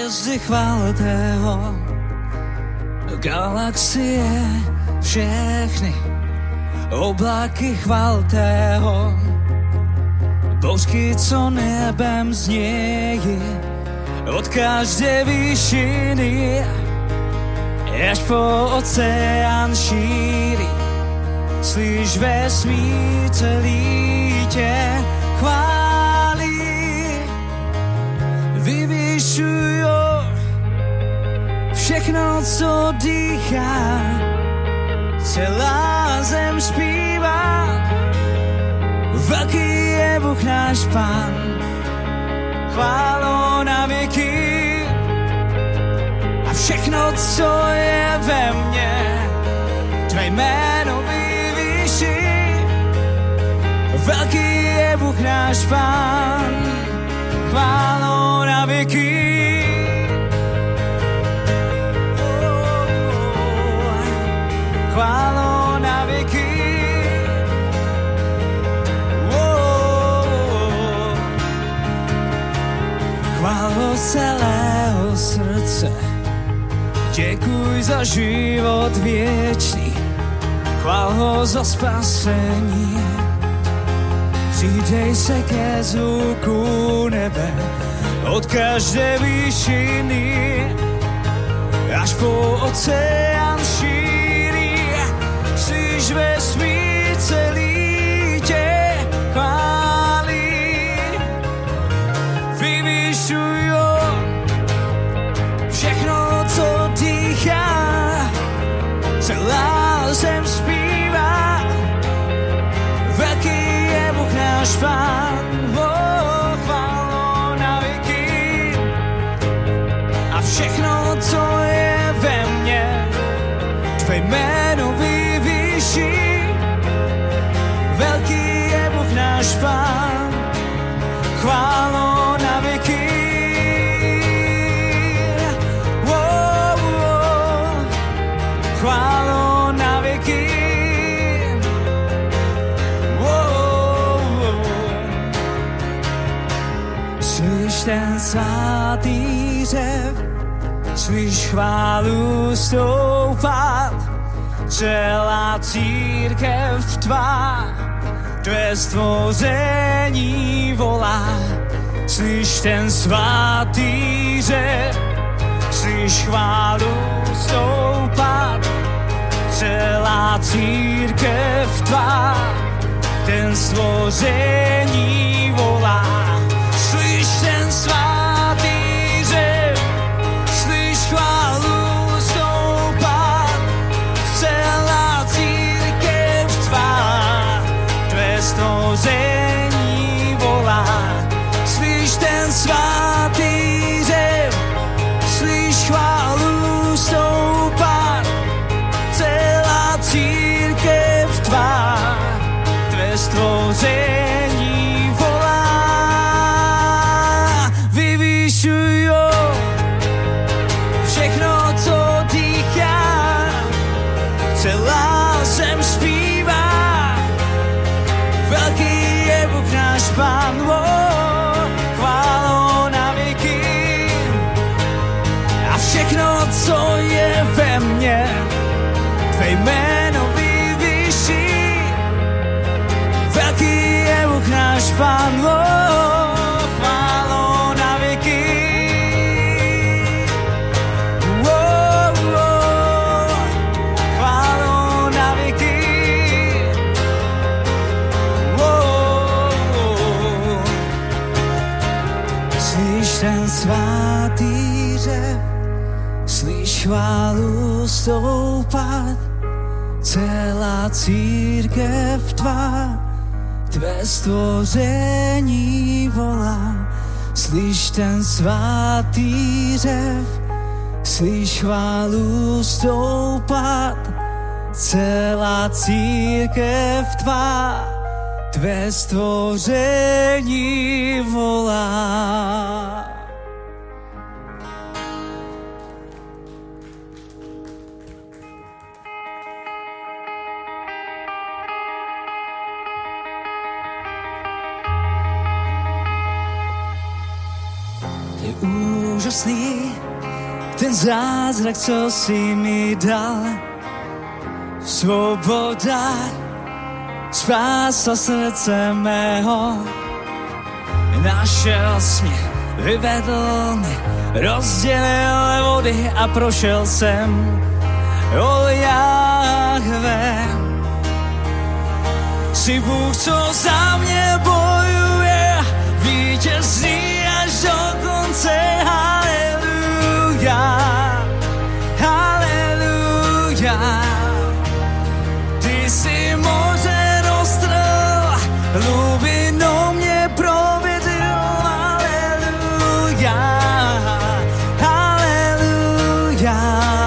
Hvězdy chválte ho, galaxie všechny, oblaky chválte ho, bouřky, co nebem znějí, od každé výšiny až po oceán šíří. Slyš vesmír celý tě chválí, vyvyšujo všechno, co dýchá, celá zem zpívá, velký je Bůh náš Pán, chválo na věky a všechno, co je ve mně, tvé jméno vyvýší, velký je Bůh náš Pán, chválo na věky. Chválo na věky. Chválo celého srdce, děkuj za život věčný, chvál ho za spasení. Přidej se ke zvuku nebe, od každé výšiny, až po oceán šíří. Slyš vesmír celý tě chválí, vyvyšujo všechno, co dýchá, celá zem zpívá, velký je Bůh náš Pán, chválo na věky a všechno, co je ve mně, tvé jméno vyvýší, velký je Bůh náš Pán, chválo na věky. Chválo na věky. Slyš ten svatý řev, slyš chválu stoupat, celá církev tvá, tvé stvoření volá. Slyš ten svatý řev, slyš chválu stoupat, celá církev tvá, ten stvoření volá. Slyš ten svatý řev, slyš chválu stoupat, celá církev tvá, tvé stvoření volá. Slyš ten svatý řev, slyš chválu stoupat, celá církev tvá, tvé stvoření volá. Vyvyšujo všechno, co dýchá, celá zem zpívá, velký je Bůh náš Pán, chválo na věky a všechno, co je ve mně, tvé jméno vyvýší, velký je Bůh náš Pán, chválo na věky. Chválo na věky. Slyš ten svatý řev, slyš chválu stoupat, celá církev tvá, tvé stvoření volá. Slyš ten svatý řev, slyš chválu stoupat, celá církev tvá, tvé stvoření volá. úžasný, ten zázrak, co si mi dal. Svoboda spásla srdce mého. Našel jsi mě, vyvedl mě, rozdělil vody a prošel jsem. O Jahve, jsi Bůh, co za mě bojuje, vítězný až do konce. Haleluja, haleluja. Ty jsi moře roztrhl, hlubinou mě provedl. Haleluja, haleluja.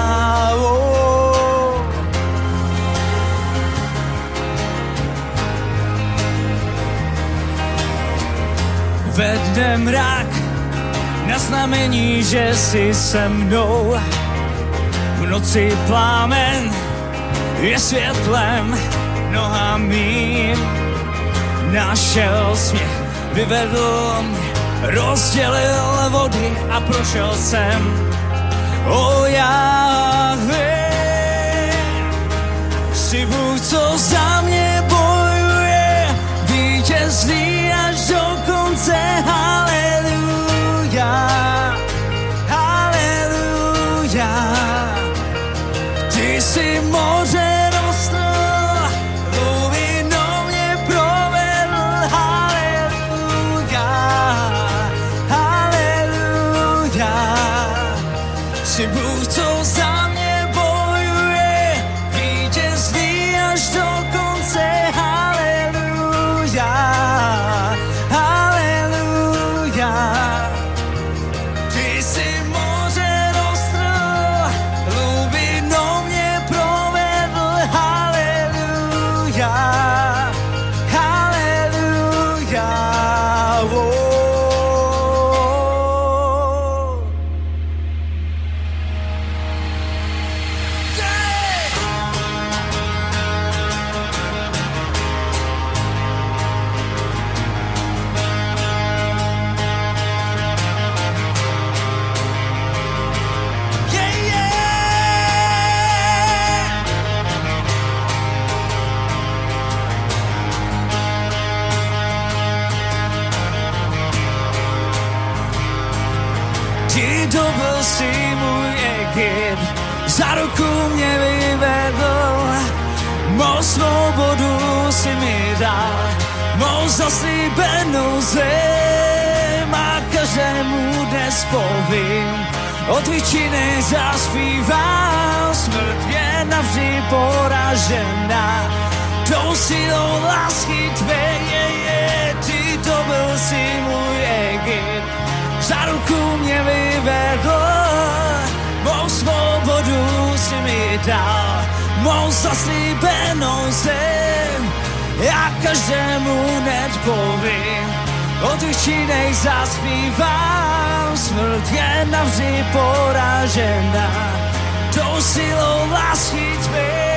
Ve dne mrak, na znamení, že jsi se mnou. V noci plámen je světlem noha mým. Našel jsi mě, vyvedl mě, rozdělil vody a prošel jsem. O Jahve, jsi Bůh, co za mě bojuje, vítězný až do konce. Haleluja, haleluja. Ty jsi moře roztrhl, hlubinou mě provedl. Haleluja, haleluja. Jsi Bůh, co za mě bojuje, vítězný až do konce. Haleluja, haleluja. Ty jsi moře roztrhl, hlubinou mě provedl. Haleluja, haleluja. Ty dobil si můj Egypt, za ruku mě vyvedl, mou svobodu si mi dal, mou zaslíbenou zem a každému dnes povím, o tvých činech zaspívám. Smrt je navždy poražena, tou silou lásky tvé je. Ty dobil si můj Egypt, za ruku mě vyvedl, mou svobodu si mi dal, mou zaslíbenou zem. Já každému hned povím, o tvých činech zaspívám. Smrt je navždy poražena, tou silou lásky tvé.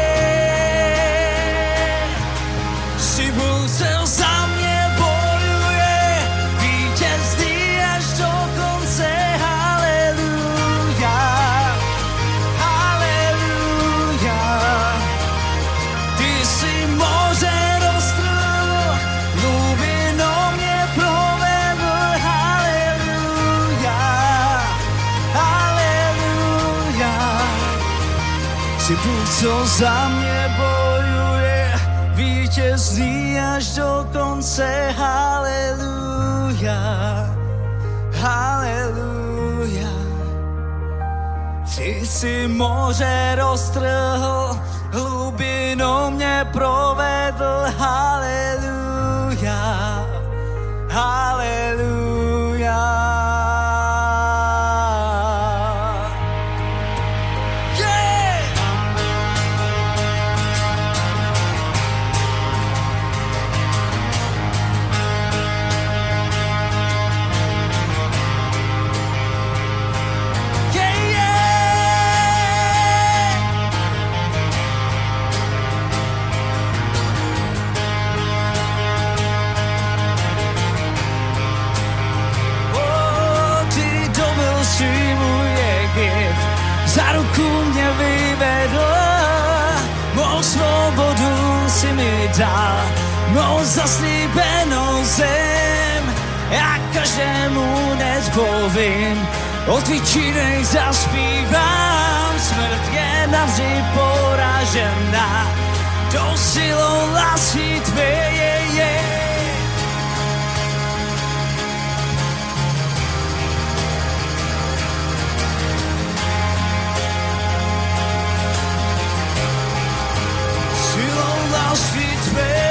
Jsi Bůh, co za mě bojuje, vítězný až do konce. Haleluja, haleluja. Ty jsi moře roztrhl, hlubinou mě provedl. Haleluja, haleluja. Jsi Bůh, co za mě bojuje, vítězný až do konce. Haleluja, haleluja. Ty jsi moře roztrhl, hlubinou mě provedl. Haleluja, haleluja. za ruku mě vyvedl, mou svobodu si mi dal, mou zaslíbenou zem. Já každému dnes povím, o tvých zaspívám, smrt je navždy poražená, tou silou lásky tvé je. Silou lásky tvé.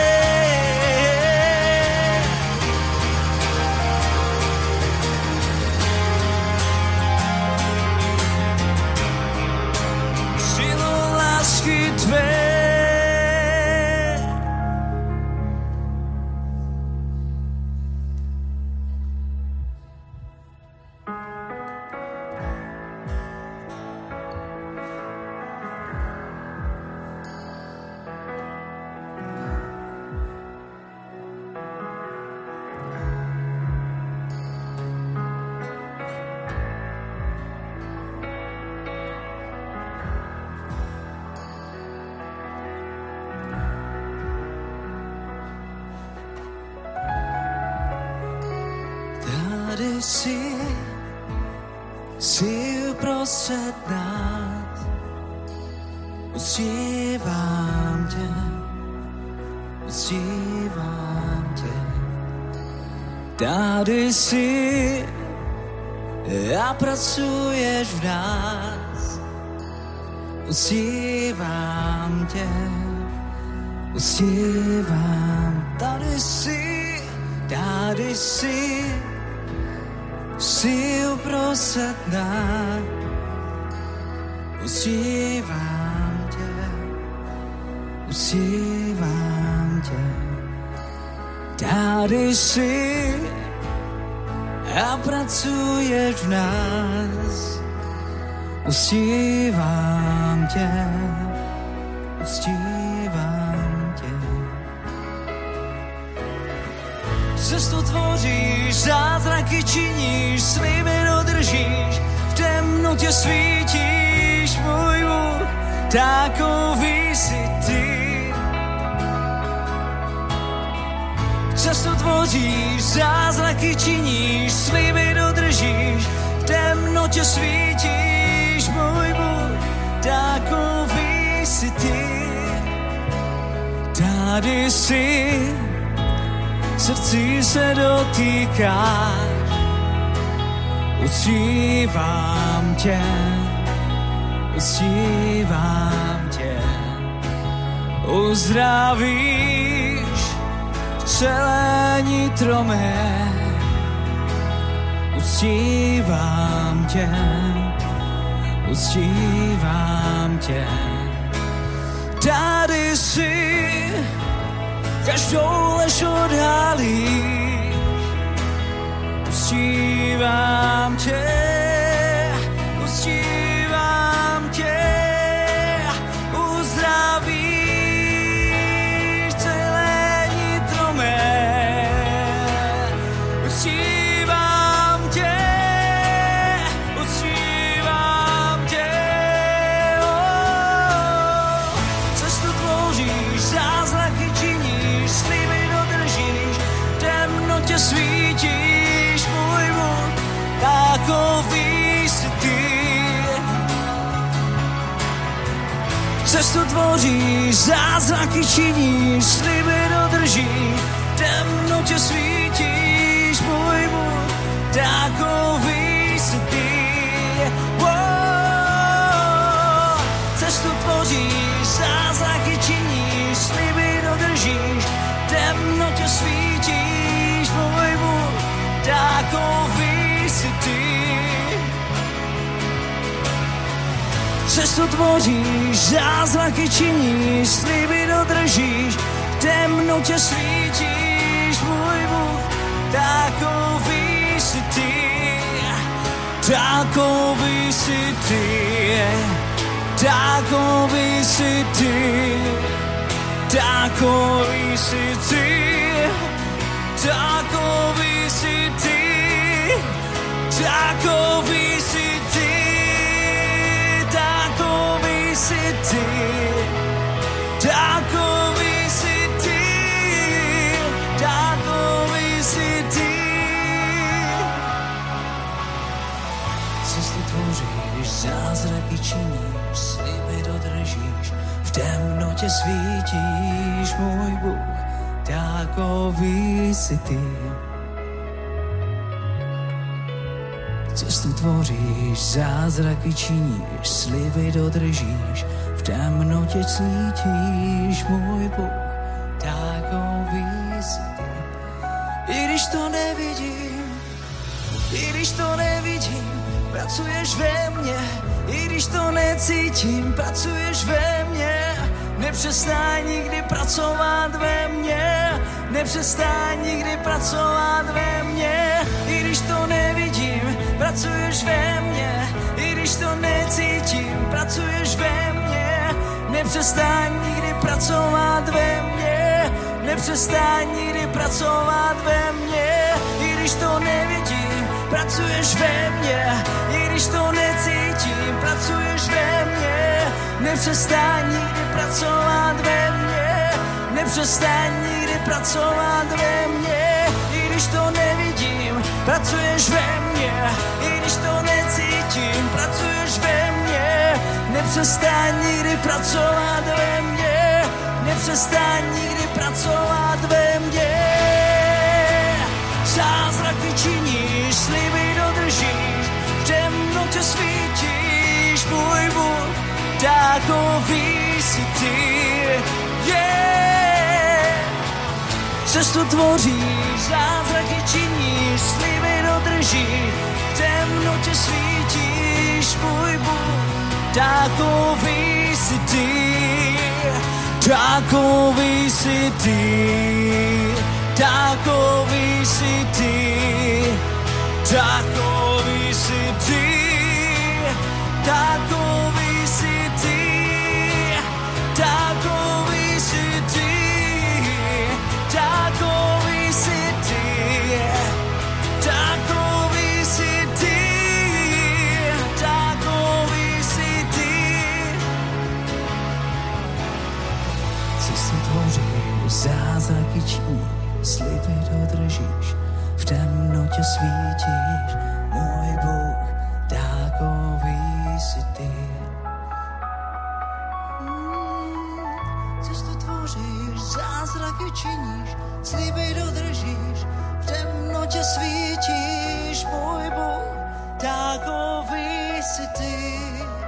Tady jsi uprostřed nás, uctívám tě, uctívám tě. Tady jsi a pracuješ v nás, uctívám tě, uctívám. Tady jsi uprostřed nás, uctívám tě, uctívám tě. Tady jsi a pracuješ v nás, uctívám tě, uctívám tě. Cestu tvoříš, zázraky činíš, sliby dodržíš, v temnotě svítíš, můj Bůh, takový jsi ty. Cestu tvoříš, zázraky činíš, sliby dodržíš, v temnotě svítíš, můj Bůh, takový jsi ty. Tady jsi, srdci se dotýkáš, uctívám tě, uctívám tě. Uzdravíš celé nitro mé, uctívám tě, uctívám tě. Tady jsi, každou lež odhalíš, uctívám tě, uctívám tě, uzdravíš celé nitro mé, uctívám tě, uctívám tě. Cestu tvoříš, zázraky činíš, sliby dodržíš, v temnotě svítíš, můj Bůh, takový jsi ty. Cestu tvoříš, zázraky činíš, sliby dodržíš, v temnotě svítíš, můj Bůh, takový jsi ty. Cestu tvoříš, zázraky činíš, sliby dodržíš, v temnotě svítíš, můj Bůh, takový jsi ty. Cestu tvoříš, zázraky činíš, sliby dodržíš, v temnotě svítíš, můj Bůh, takový jsi ty, takový jsi ty, takový jsi ty, takový jsi ty, takový jsi ty, takový jsi ty. Cesty tvoříš, zázraky činíš, sliby dodržíš, v temnotě svítíš, můj Bůh, takový jsi ty. Cestu tvoříš, zázraky činíš, sliby dodržíš, v temnotě cítíš, můj Bůh, takový jsi ty. I když to nevidím, pracuješ ve mně, i když to necítím, pracuješ ve mně. Nepřestaň nikdy pracovat ve mně, nepřestaň nikdy pracovat ve mně. I když to nevidím, pracuješ ve mně, i když to necítím, pracuješ ve mně. Nepřestaň nikdy pracovat ve mně, nepřestaň nikdy pracovat ve mně. I když to nevidím, pracuješ ve mně, i když to necítím, pracuješ ve mně. Nepřestaň nikdy pracovat ve mně, nepřestaň nikdy pracovat ve mně. I když to nevidím, pracuješ ve mně, i když to necítím, pracuješ ve mně. Nepřestaň nikdy pracovat ve mně, nepřestaň nikdy pracovat ve mně. Zázraky činíš, sliby dodržíš, v temnotě svítíš, můj Bůh, takový jsi ty. Cestu tvoříš, zázraky činíš, sliby dodržíš, v temnotě svítíš, můj Bůh, takový jsi ty, takový jsi ty, takový jsi ty, takový jsi ty, takový jsi ty, takový jsi ty, takový jsi ty, takový jsi ty, takový jsi ty. Cestu tvoříš, zázraky činíš, sliby dodržíš, v temnotě svítíš, můj Bůh, takový jsi ty. Cestu tvoříš, zázraky činíš, sliby dodržíš, v temnotě svítíš, můj Bůh, takový jsi ty.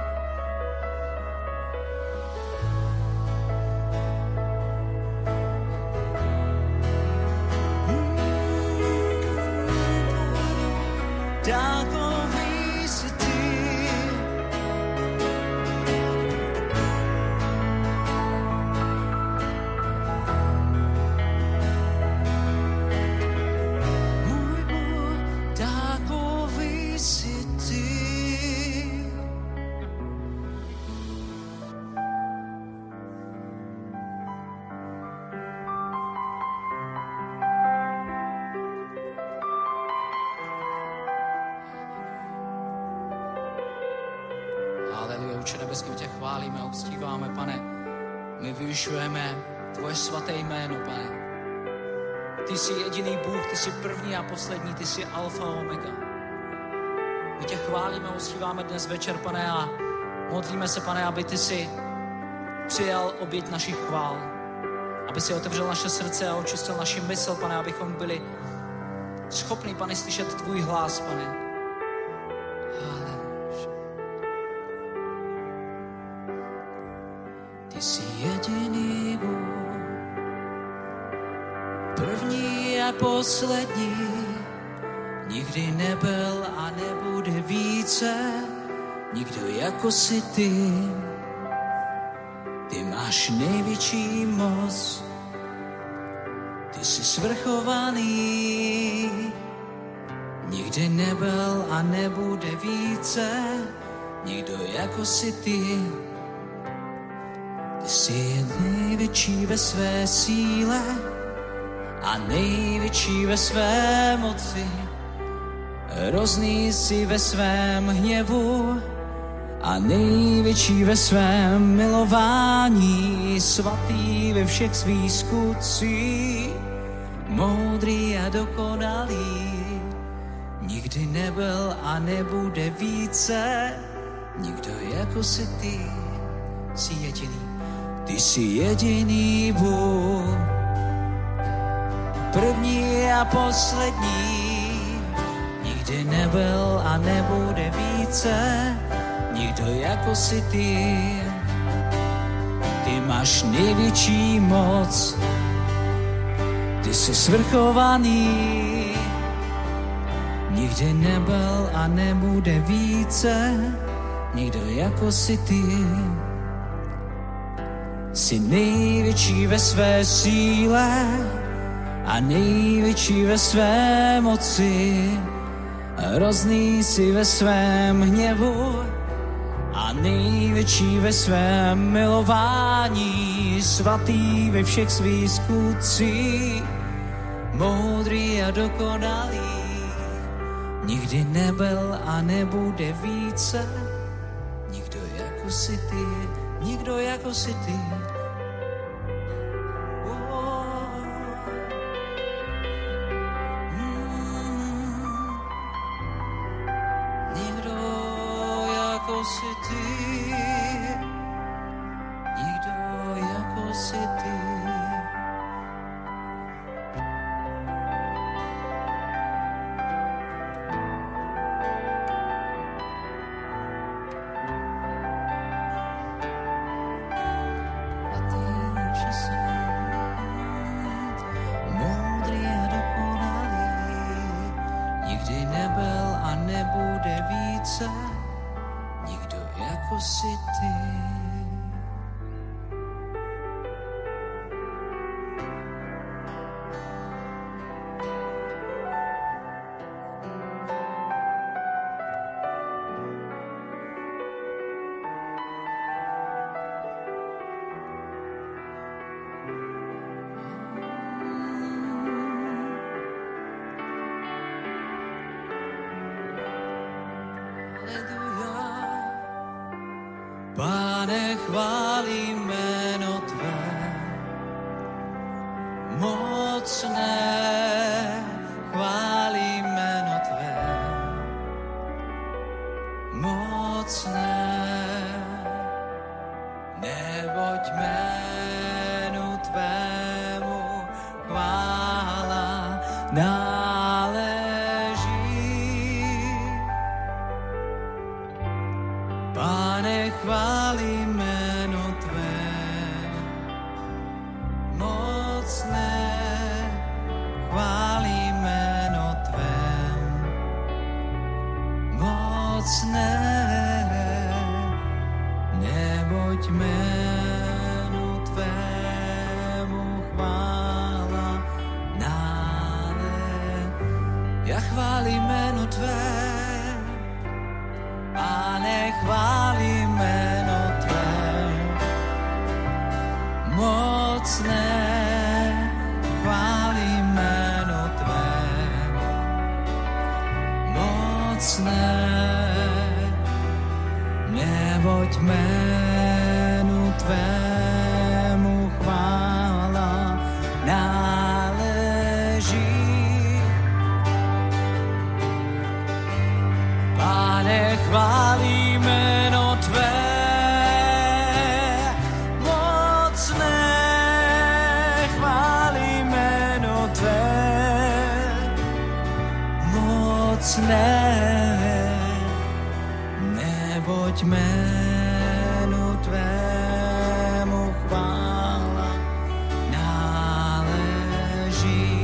Takový jsi ty. Můj Bůh, takový jsi ty. Haleluja, Otče nebeský, tě chválíme a uctíváme, Pane. My vyvyšujeme tvoje svaté jméno, Pane. Ty jsi jediný Bůh, ty jsi první a poslední, ty jsi alfa a omega. My tě chválíme a uctíváme dnes večer, Pane, a modlíme se, Pane, aby ty jsi přijal oběť našich chvál. Aby si otevřel naše srdce a očistil naši mysl, Pane, abychom byli schopni, Pane, slyšet tvůj hlas, Pane. Ty jsi jediný Bůh, první a poslední, nikdy nebyl a nebude více, nikdo jako jsi ty. Ty máš největší moc, ty jsi svrchovaný, nikdy nebyl a nebude více, nikdo jako jsi ty. Ty jsi největší ve své síle a největší ve své moci. Hrozný jsi ve svém hněvu a největší ve svém milování. Svatý ve všech svých skutcích, moudrý a dokonalý. Nikdo nikdy nebyl a nebude více. Nikdo jako si ty, jsi jediný. Ty jsi jediný Bůh, první a poslední. Nikdy nebyl a nebude více. Nikdo jako si ty. Ty máš největší moc, ty jsi svrchovaný. Nikdy nebyl a nebude více. Nikdo jako si ty. Jsi největší ve své síle a největší ve své moci. Hrozný jsi ve svém hněvu a největší ve svém milování. Svatý ve všech svých skutcích, moudrý a dokonalý. Nikdy nebyl a nebude více. Nikdo jako si ty, nikdo jako si ty. Nikdo jako si ty, nikdo jako si ty. Nikdo jako si ty. Pane, chválím jméno tvé, mocné, chválím jméno tvé, mocné, neboť jménu tvému chvála náleží. Pane, chválím jméno tvé, mocné, chválím jméno tvé, mocné, neboť jménu tvému chvála náleží. Já chválím jméno tvé, Pane, chválím jméno tvé, mocné, chválím jméno tvé, mocné, neboť jménu tvému chvála náleží. Pane, chválím jméno tvé, mocné, chválím jméno tvé, mocné, neboť jménu tvému chvála náleží.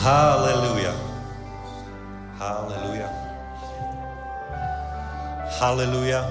Haleluja. Haleluja. Haleluja.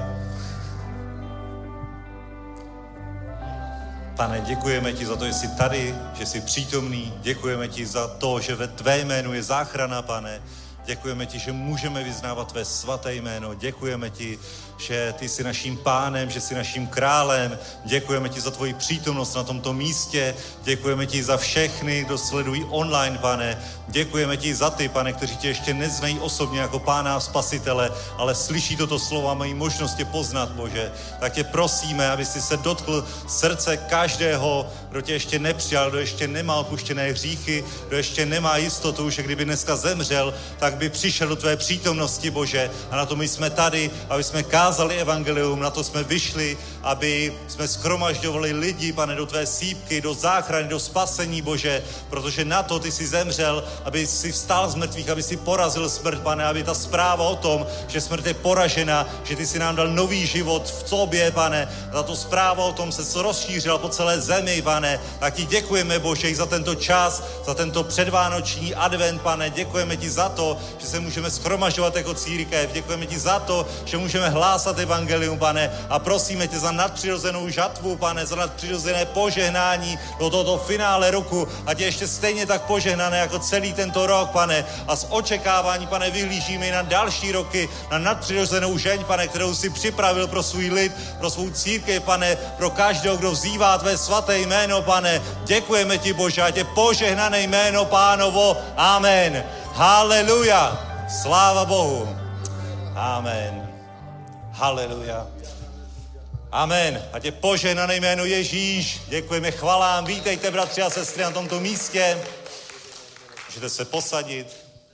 Pane, děkujeme ti za to, že jsi tady, že jsi přítomný. Děkujeme ti za to, že ve tvé jménu je záchrana, Pane. Děkujeme ti, že můžeme vyznávat tvé svaté jméno. Děkujeme ti, že ty jsi naším pánem, že jsi naším králem. Děkujeme ti za tvoji přítomnost na tomto místě. Děkujeme ti za všechny, kdo sledují online, Pane. Děkujeme ti za ty, Pane, kteří tě ještě neznají osobně jako pána a spasitele, ale slyší toto slovo a mají možnost tě poznat, Bože. Tak tě prosíme, aby jsi se dotkl srdce každého, kdo tě ještě nepřijal, kdo ještě nemá odpuštěné hříchy, kdo ještě nemá jistotu, že kdyby dneska zemřel, tak by přišel do tvé přítomnosti, Bože. A na to my jsme tady, aby jsme kázali evangelium, na to jsme vyšli, aby jsme shromažďovali lidi, Pane, do tvé sýpky, do záchrany, do spasení, Bože, protože na to ty jsi zemřel, aby si vstal z mrtvých, aby si porazil smrt, Pane, aby ta zpráva o tom, že smrt je poražena, že ty si nám dal nový život v tobě, Pane, a tato zpráva o tom se rozšířila po celé zemi, Pane, tak ti děkujeme, Bože, i za tento čas, za tento předvánoční advent, Pane, děkujeme ti za to, že se můžeme shromažďovat jako církev, děkujeme ti za to, že můžeme hlásat evangelium, Pane, a prosíme tě za nadpřirozenou žatvu, Pane, za nadpřirozené požehnání do tohoto finále roku, ať je ještě stejně tak požehnané jako celý tento rok, Pane, a z očekávání, Pane, vyhlížíme i na další roky, na nadpřirozenou žeň, Pane, kterou si připravil pro svůj lid, pro svou církev, Pane, pro každého, kdo vzývá tvé svaté jméno, Pane. Děkujeme ti, Bože, ať je požehnané jméno Pánovo. Amen. Haleluja. Sláva Bohu. Amen. Haleluja. Amen. Ať je požehnané jméno Ježíš. Děkujeme, chvalám. Vítejte, bratři a sestry, na tomto místě. Můžete se posadit.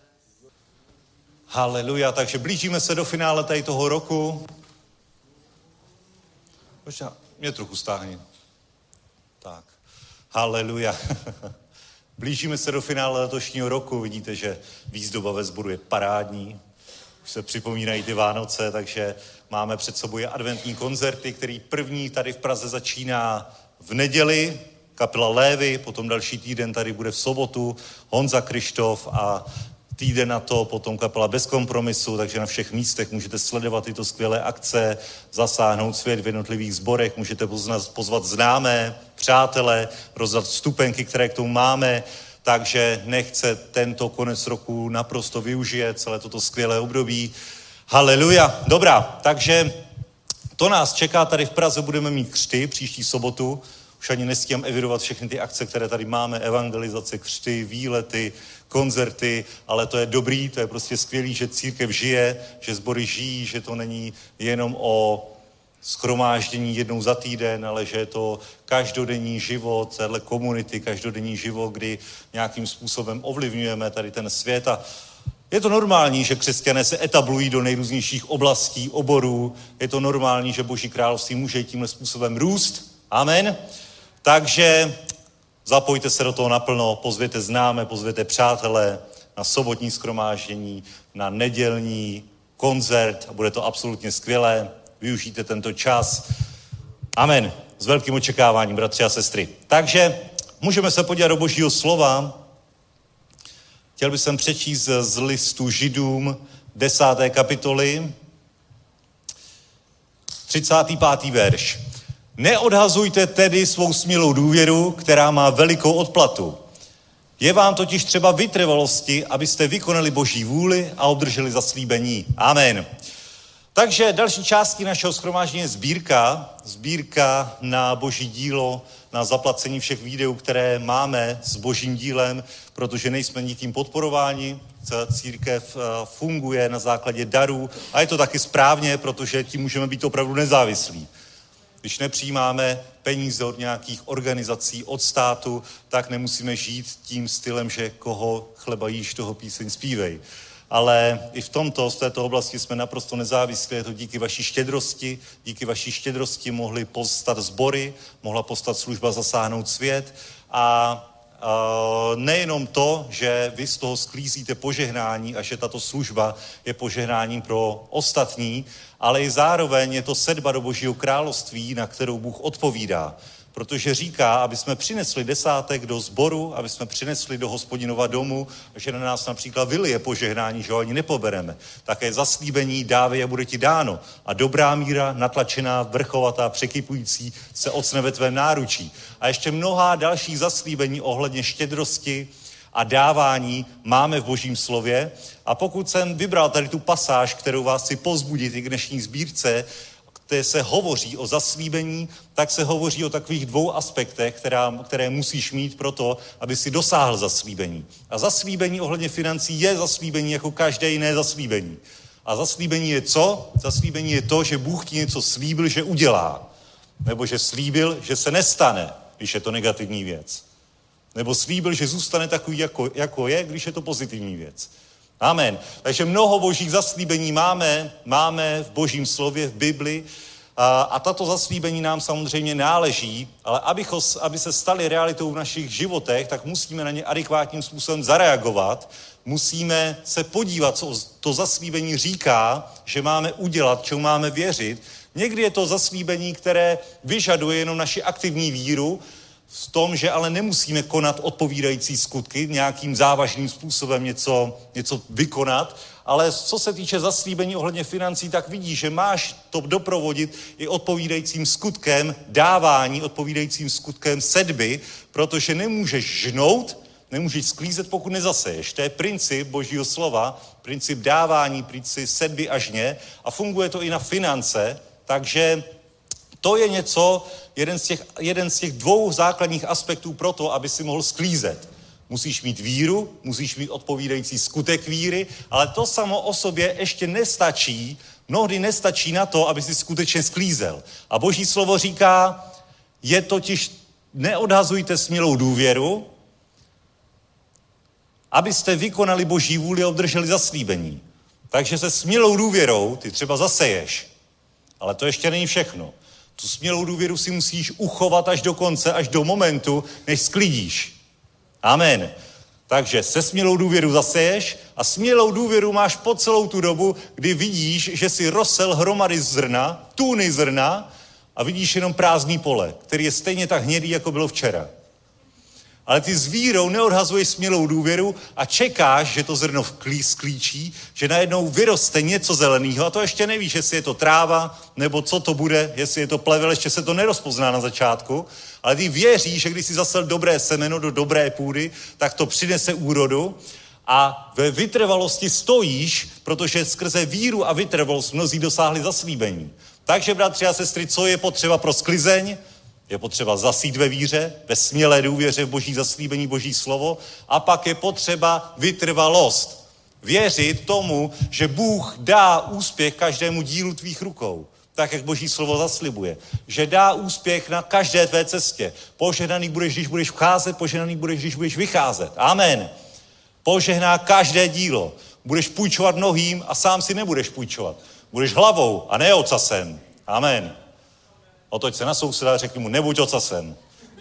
Haleluja. Takže blížíme se do finále tady toho roku. Možná mě trochu stáhni. Tak. Haleluja. Blížíme se do finále letošního roku. Vidíte, že výzdoba ve sboru je parádní. Už se připomínají ty Vánoce, takže máme před sebou adventní koncerty, který první tady v Praze začíná v neděli, kapela Lévy, potom další týden tady bude v sobotu Honza Krištof a týden na to potom kapela Bez kompromisu, takže na všech místech můžete sledovat tyto skvělé akce, zasáhnout svět v jednotlivých sborech, můžete pozvat známé, přátele, rozdat vstupenky, které k tomu máme, takže nechce tento konec roku naprosto využije celé toto skvělé období. Haleluja. Dobrá, takže to nás čeká tady v Praze, budeme mít křty příští sobotu. Už ani nestíhám evidovat všechny ty akce, které tady máme, evangelizace, křty, výlety, koncerty, ale to je dobrý, to je prostě skvělý, že církev žije, že sbory žijí, že to není jenom o shromáždění jednou za týden, ale že je to každodenní život téhle komunity, každodenní život, kdy nějakým způsobem ovlivňujeme tady ten svět a je to normální, že křesťané se etablují do nejrůznějších oblastí, oborů, je to normální, že Boží království může tímhle způsobem růst. Amen. Takže zapojte se do toho naplno, pozvěte známé, pozvěte přátelé na sobotní shromáždění, na nedělní koncert a bude to absolutně skvělé. Využijte tento čas. Amen. S velkým očekáváním, bratři a sestry. Takže můžeme se podívat do Božího slova. Chtěl bych přečíst z listu Židům 10. kapitoly 35. verš. Neodhazujte tedy svou smělou důvěru, která má velikou odplatu. Je vám totiž třeba vytrvalosti, abyste vykonali Boží vůli a obdrželi zaslíbení. Amen. Takže další částí našeho shromáždění je sbírka na Boží dílo, na zaplacení všech videů, které máme s Božím dílem, protože nejsme nikým podporováni. Církev funguje na základě darů a je to taky správně, protože tím můžeme být opravdu nezávislí. Když nepřijímáme peníze od nějakých organizací, od státu, tak nemusíme žít tím stylem, že koho chleba jíš, toho píseň zpívej. Ale i v této oblasti jsme naprosto nezávislí, je to díky vaší štědrosti mohly povstat sbory, mohla povstat služba Zasáhnout svět a nejenom to, že vy z toho sklízíte požehnání a že tato služba je požehnáním pro ostatní, ale i zároveň je to sedba do Božího království, na kterou Bůh odpovídá. protože říká, aby jsme přinesli desátek do sboru, aby jsme přinesli do Hospodinova domu, že na nás například vylije požehnání, že ho ani nepobereme. Také zaslíbení dávej a bude ti dáno. A dobrá míra, natlačená, vrchovatá, překypující se ocne ve tvém náručí. A ještě mnohá další zaslíbení ohledně štědrosti a dávání máme v Božím slově. A pokud jsem vybral tady tu pasáž, kterou vás chci povzbudit i k dnešní sbírce, kde se hovoří o zaslíbení, tak se hovoří o takových dvou aspektech, které musíš mít pro to, aby si dosáhl zaslíbení. A zaslíbení ohledně financí je zaslíbení jako každé jiné zaslíbení. A zaslíbení je co? Zaslíbení je to, že Bůh ti něco slíbil, že udělá. Nebo že slíbil, že se nestane, když je to negativní věc. Nebo slíbil, že zůstane takový, jako je, když je to pozitivní věc. Amen. Takže mnoho božích zaslíbení máme v Božím slově, v Bibli a tato zaslíbení nám samozřejmě náleží, ale aby se staly realitou v našich životech, tak musíme na ně adekvátním způsobem zareagovat, musíme se podívat, co to zaslíbení říká, že máme udělat, čemu máme věřit. Někdy je to zaslíbení, které vyžaduje jenom naši aktivní víru, v tom, že ale nemusíme konat odpovídající skutky, nějakým závažným způsobem něco vykonat, ale co se týče zaslíbení ohledně financí, tak vidíš, že máš to doprovodit i odpovídajícím skutkem dávání, odpovídajícím skutkem sedby, protože nemůžeš žnout, nemůžeš sklízet, pokud nezaseješ. To je princip Božího slova, princip dávání, princip sedby a žně a funguje to i na finance, takže to je jeden z těch dvou základních aspektů pro to, aby si mohl sklízet. Musíš mít víru, musíš mít odpovídající skutek víry, ale to samo o sobě ještě nestačí, mnohdy nestačí na to, aby si skutečně sklízel. A Boží slovo říká, je totiž, neodhazujte smělou důvěru, abyste vykonali Boží vůli a obdrželi zaslíbení. Takže se smělou důvěrou ty třeba zaseješ, ale to ještě není všechno. Tu smělou důvěru si musíš uchovat až do konce, až do momentu, než sklidíš. Amen. Takže se smělou důvěru zaseješ a smělou důvěru máš po celou tu dobu, kdy vidíš, že si rozsel hromady zrna, tuny zrna a vidíš jenom prázdný pole, který je stejně tak hnědý, jako bylo včera. Ale ty s vírou neodhazuješ smělou důvěru a čekáš, že to zrno sklíčí, že najednou vyroste něco zeleného a to ještě nevíš, jestli je to tráva, nebo co to bude, jestli je to plevel, ještě se to nerozpozná na začátku, ale ty věříš, že když jsi zasel dobré semeno do dobré půdy, tak to přinese úrodu a ve vytrvalosti stojíš, protože skrze víru a vytrvalost mnozí dosáhli zaslíbení. Takže, bratři a sestry, co je potřeba pro sklizeň? Je potřeba zasít ve víře, ve smělé důvěře v Boží zaslíbení, Boží slovo a pak je potřeba vytrvalost. Věřit tomu, že Bůh dá úspěch každému dílu tvých rukou, tak jak Boží slovo zaslibuje. Že dá úspěch na každé tvé cestě. Požehnaný budeš, když budeš vcházet, požehnaný budeš, když budeš vycházet. Amen. Požehná každé dílo. Budeš půjčovat mnohým a sám si nebudeš půjčovat. Budeš hlavou a ne ocasem. Amen. Otoč se na souseda a řekni mu, nebuď ocasem.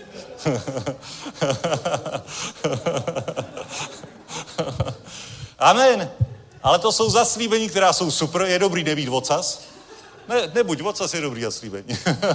Amen. Ale to jsou zaslíbení, která jsou super. Je dobrý nebýt ocas. Nebuď ocas, je dobrý zaslíbení.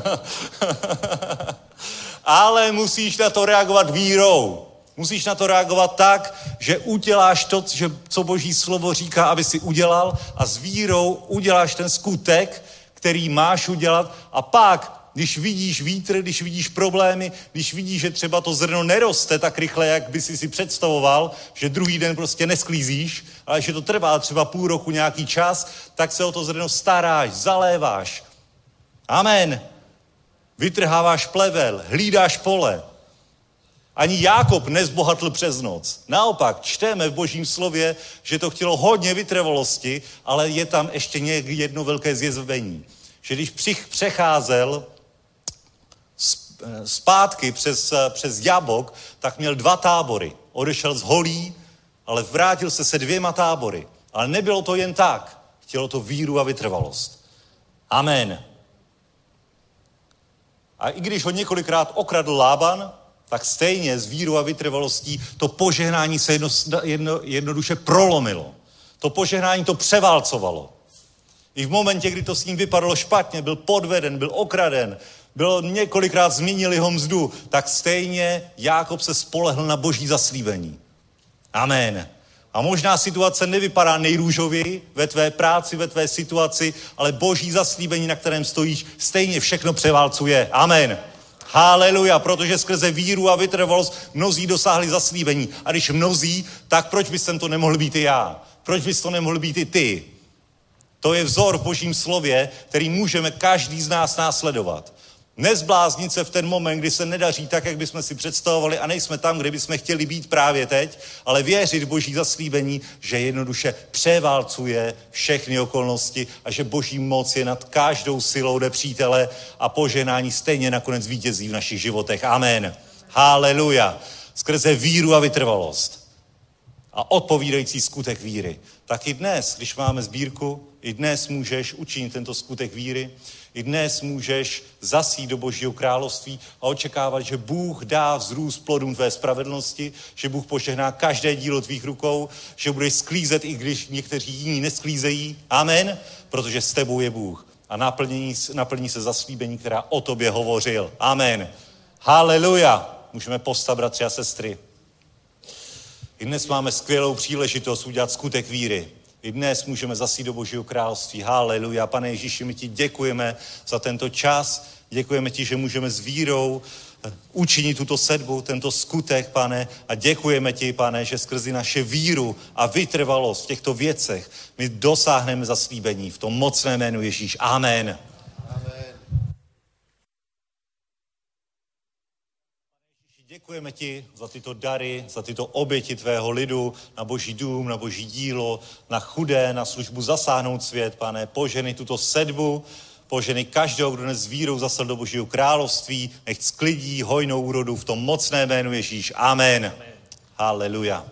Ale musíš na to reagovat vírou. Musíš na to reagovat tak, že uděláš to, co Boží slovo říká, aby si udělal a s vírou uděláš ten skutek, který máš udělat a pak, když vidíš vítr, když vidíš problémy, když vidíš, že třeba to zrno neroste tak rychle, jak by si představoval, že druhý den prostě nesklízíš, ale že to trvá třeba půl roku nějaký čas, tak se o to zrno staráš, zaléváš. Amen. Vytrháváš plevel, hlídáš pole. Ani Jákob nezbohatl přes noc. Naopak, čteme v Božím slově, že to chtělo hodně vytrvalosti, ale je tam ještě jedno velké zjevení. Že když přecházel zpátky přes Jabok, tak měl 2 tábory. Odešel z holí, ale vrátil se 2 tábory. Ale nebylo to jen tak. Chtělo to víru a vytrvalost. Amen. A i když ho několikrát okradl Lában, tak stejně s vírou a vytrvalostí to požehnání se jednoduše prolomilo. To požehnání to převálcovalo. I v momentě, kdy to s ním vypadalo špatně, byl podveden, byl okraden, bylo několikrát změnili ho mzdu, tak stejně Jákob se spolehl na boží zaslíbení. Amen. A možná situace nevypadá nejrůžověji ve tvé práci, ve tvé situaci, ale boží zaslíbení, na kterém stojíš, stejně všechno převálcuje. Amen. Haleluja, protože skrze víru a vytrvalost mnozí dosáhli zaslíbení. A když mnozí, tak proč bys to nemohl být i já? Proč bys to nemohl být i ty? To je vzor v božím slově, který můžeme každý z nás následovat. Nezbláznit se v ten moment, kdy se nedaří tak, jak bychom si představovali a nejsme tam, kde bychom chtěli být právě teď, ale věřit v boží zaslíbení, že jednoduše převálcuje všechny okolnosti a že boží moc je nad každou silou nepřítele a požehnání stejně nakonec vítězí v našich životech. Amen. Haleluja. Skrze víru a vytrvalost a odpovídající skutek víry. Tak i dnes, když máme sbírku, i dnes můžeš učinit tento skutek víry, i dnes můžeš zasít do Božího království a očekávat, že Bůh dá vzrůst plodům tvé spravedlnosti, že Bůh požehná každé dílo tvých rukou, že budeš sklízet, i když někteří jiní nesklízejí. Amen, protože s tebou je Bůh. A naplní se zaslíbení, která o tobě hovořil. Amen. Haleluja. Můžeme povstat, bratři a sestry. I dnes máme skvělou příležitost udělat skutek víry. I dnes můžeme zasít do Božího království. Haleluja. Pane Ježíši, my ti děkujeme za tento čas. Děkujeme ti, že můžeme s vírou učinit tuto sedbu, tento skutek, pane. A děkujeme ti, pane, že skrze naše víru a vytrvalost v těchto věcech my dosáhneme zaslíbení v tom mocném jménu Ježíš. Amen. Děkujeme ti za tyto dary, za tyto oběti tvého lidu, na boží dům, na boží dílo, na chudé, na službu zasáhnout svět, pane. Požehnej tuto sedbu, požehnej každého, kdo dnes s vírou zasel do Božího království, nech sklidí hojnou úrodu v tom mocném jménu Ježíš. Amen. Amen. Haleluja.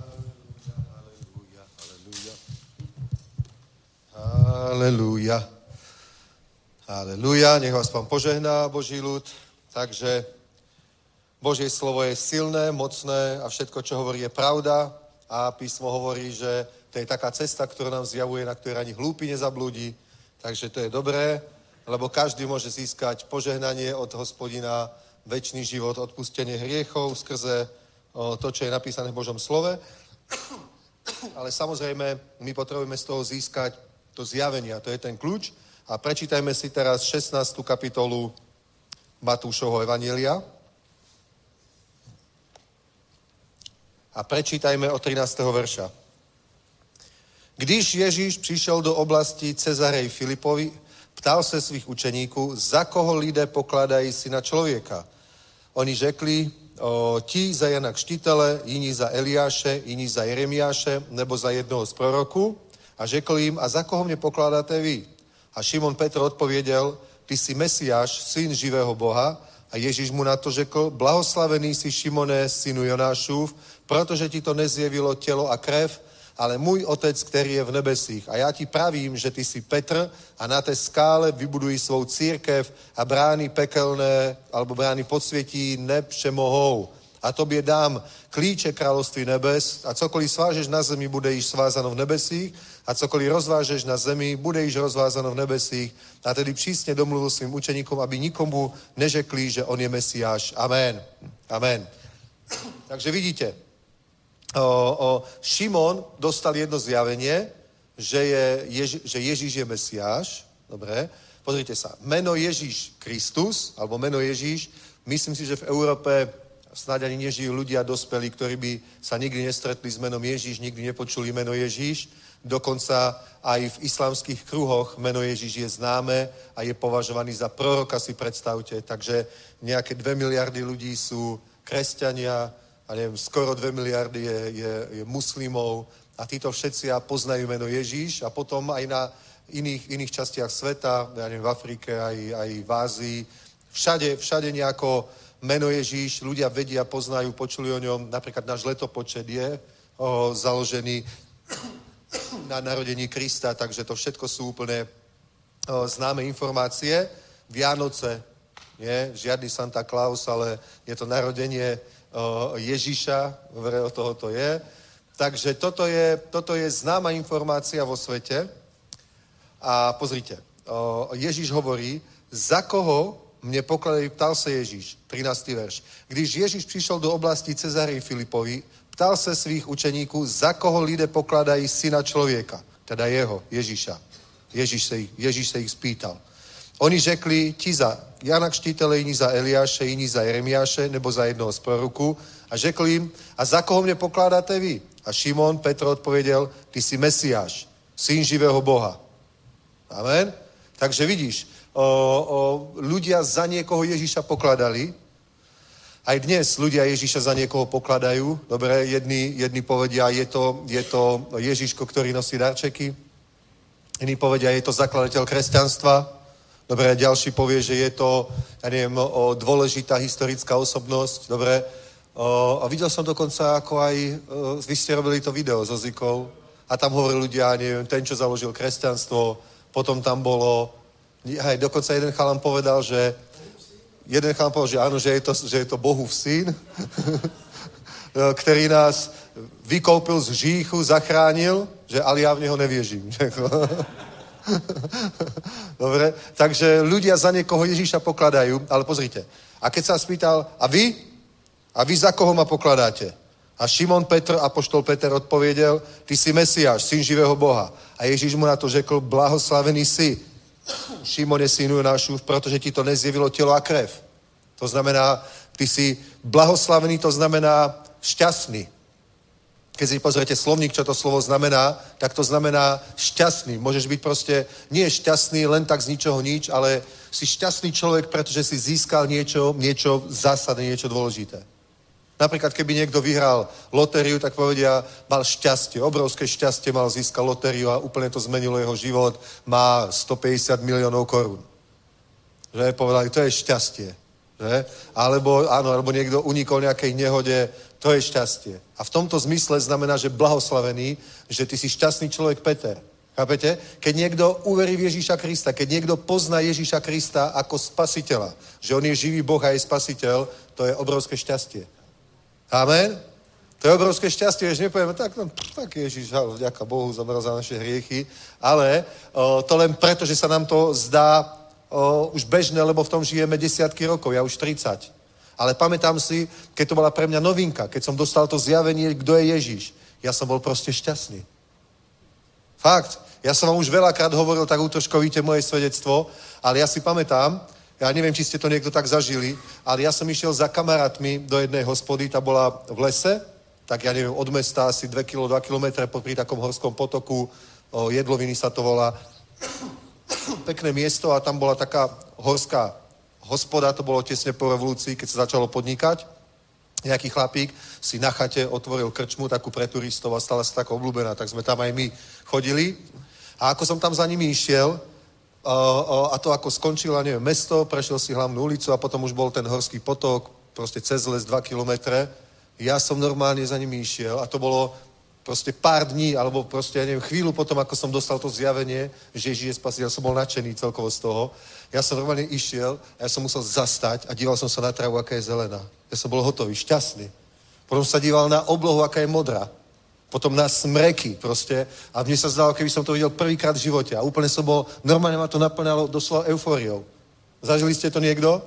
Haleluja. Haleluja. Nech vás Pán požehná, Boží ľud. Takže Božie slovo je silné, mocné a všetko, čo hovorí, je pravda. A písmo hovorí, že to je taká cesta, ktorá nám zjavuje, na ktorej ani hlúpi nezablúdi. Takže to je dobré, lebo každý môže získať požehnanie od Hospodina, večný život, odpustenie hriechov skrze to, čo je napísané v Božom slove. Ale samozrejme, my potrebujeme z toho získať to zjavenie, a to je ten kľúč. A prečítajme si teraz 16. kapitolu Matúšovho evanjelia. A prečítajme od 13. verša. Když Ježíš přišel do oblasti Cezarej Filipovi, ptal se svých učeníků, za koho lidé pokladají syna člověka. Oni řekli, ti za Jana Křtitele, jiní za Eliáše, jiní za Jeremiáše, nebo za jednoho z proroků. A řekl jim, a za koho mě pokládáte vy? A Šimon Petr odpověděl, ty jsi Mesiáš, syn živého Boha. A Ježíš mu na to řekl, blahoslavený jsi Šimone, synu Jonášův, protože ti to nezjevilo tělo a krev, ale můj otec, který je v nebesích. A já ti pravím, že ty jsi Petr a na té skále vybudují svou církev a brány pekelné, alebo brány podsvětí nepřemohou. A tobě dám klíče království nebes a cokoliv svážeš na zemi, bude již svázáno v nebesích a cokoliv rozvážeš na zemi, bude již rozvázáno v nebesích. A tedy přísně domluvil svým učeníkům, aby nikomu neřekli, že on je Mesiáš. Amen. Amen. Takže vidíte, Šimon dostal jedno zjavenie, že Ježíš je Mesiáš. Dobre, pozrite sa. Meno Ježíš Kristus, alebo meno Ježíš, myslím si, že v Európe snáď ani nežijú ľudia dospelí, ktorí by sa nikdy nestretli s menom Ježíš, nikdy nepočuli meno Ježíš. Dokonca aj v islamských kruhoch meno Ježíš je známe a je považovaný za proroka, si predstavte. Takže nejaké 2 miliardy ľudí sú kresťania, a neviem, skoro 2 miliardy je muslimov a títo všetci poznajú meno Ježíš a potom aj na iných častiach sveta, ja neviem, v Afrike, aj v Ázii, všade nejako meno Ježíš, ľudia vedia, poznajú, počuli o ňom, napríklad náš letopočet je založený na narodení Krista, takže to všetko sú úplne známe informácie. Vianoce, nie, žiadny Santa Claus, ale je to narodenie Ježíša, od toho to je. Takže toto je známa informácia vo svete. A pozrite, Ježíš hovorí, za koho mne pokladají, ptal se Ježíš, 13. verš. Když Ježíš přišel do oblasti Cezarii Filipovi, ptal se svých učeníků, za koho lidé pokladají syna člověka, teda jeho, Ježíša. Ježíš se jich spýtal. Oni řekli, ti za Jana Křtitele, jiní za Eliáše, jiní za Jeremiáše, nebo za jednoho z proroků. A řekl jim, a za koho mě pokládáte vy? A Šimon Petr odpověděl, ty jsi Mesiáš, syn živého Boha. Amen? Takže vidíš, ľudia za niekoho Ježíša pokladali. Aj dnes ľudia Ježíša za niekoho pokladajú. Dobre, jedni povedia, je to Ježíško, ktorý nosí darčeky. Iní povedia, je to zakladateľ kresťanstva. Dobre, ďalší povie, že je to, ja neviem, dôležitá historická osobnosť. Dobre, a videl som dokonca, ako aj vy ste robili to video so Zikou a tam hovorili ľudia, neviem, ten, čo založil kresťanstvo, potom tam bolo, aj dokonca jeden chalan povedal, že áno, že je to Bohův syn, který nás vykoupil z hříchu, zachránil, že ale ja v neho nevěřím. Dobre, takže ľudia za niekoho Ježíša pokladajú, ale pozrite, a keď sa spýtal, a vy za koho ma pokladáte? A Šimon Petr, apoštol Peter odpověděl, ty jsi Mesiáš, syn živého Boha. A Ježíš mu na to řekl, blahoslavený jsi, Šimone, synu Jonášův, protože ti to nezjevilo tělo a krev. To znamená, ty jsi blahoslavený, to znamená šťastný. Keď si pozriete slovník, čo to slovo znamená, tak to znamená šťastný. Môžeš byť proste, nie šťastný len tak z ničoho nič, ale si šťastný človek, pretože si získal niečo zásadné, niečo dôležité. Napríklad, keby niekto vyhral lotériu, tak povedia, mal šťastie, obrovské šťastie mal, získal lotériu a úplne to zmenilo jeho život, má 150 miliónov korún. Že? Povedali, to je šťastie. Že? Alebo niekto unikol nejakej nehode, to je šťastie. A v tomto zmysle znamená, že blahoslavený, že ty si šťastný človek Peter. Chápete? Keď niekto uverí v Ježíša Krista, keď niekto pozná Ježíša Krista ako spasiteľa, že on je živý Boh a je spasiteľ, to je obrovské šťastie. Amen? To je obrovské šťastie, že nepovieme, tak Ježíš, vďaka Bohu, zomrel za naše hriechy, ale to len preto, že sa nám to zdá už bežné, lebo v tom žijeme desiatky rokov, ja už 30. Ale pamätám si, keď to bola pre mňa novinka, keď som dostal to zjavenie, kto je Ježíš, ja som bol proste šťastný. Fakt. Ja som vám už veľakrát hovoril tak útržkovite moje svedectvo, ale ja si pamätám, ja neviem, či ste to niekto tak zažili, ale ja som išiel za kamarátmi do jednej hospody, tá bola v lese, tak ja neviem, od mesta asi 2 kilometre pri takom horskom potoku, Jedloviny sa to volá, pekné miesto a tam bola taká horská hospoda, to bolo tesne po revolúcii, keď sa začalo podnikať. Nejaký chlapík si na chate otvoril krčmu, takú pre turistov a stala sa tak obľúbená, tak sme tam aj my chodili. A ako som tam za nimi išiel, a to ako skončila, neviem, mesto, prešiel si hlavnú ulicu a potom už bol ten horský potok, proste cez les 2 kilometre. Ja som normálne za nimi išiel a to bolo proste pár dní, alebo proste, ja neviem, chvíľu potom, ako som dostal to zjavenie, že Ježíš je spasiteľ, som bol nadšený celkovo z toho. Ja som normálne išiel a ja som musel zastať a díval som sa na travu, aká je zelená. Ja som bol hotový, šťastný. Potom sa díval na oblohu, aká je modrá. Potom na smreky proste. A mne sa zdalo, keby som to videl prvýkrát v živote. A úplne som bol, normálne ma to naplňalo doslova eufóriou. Zažili ste to niekto?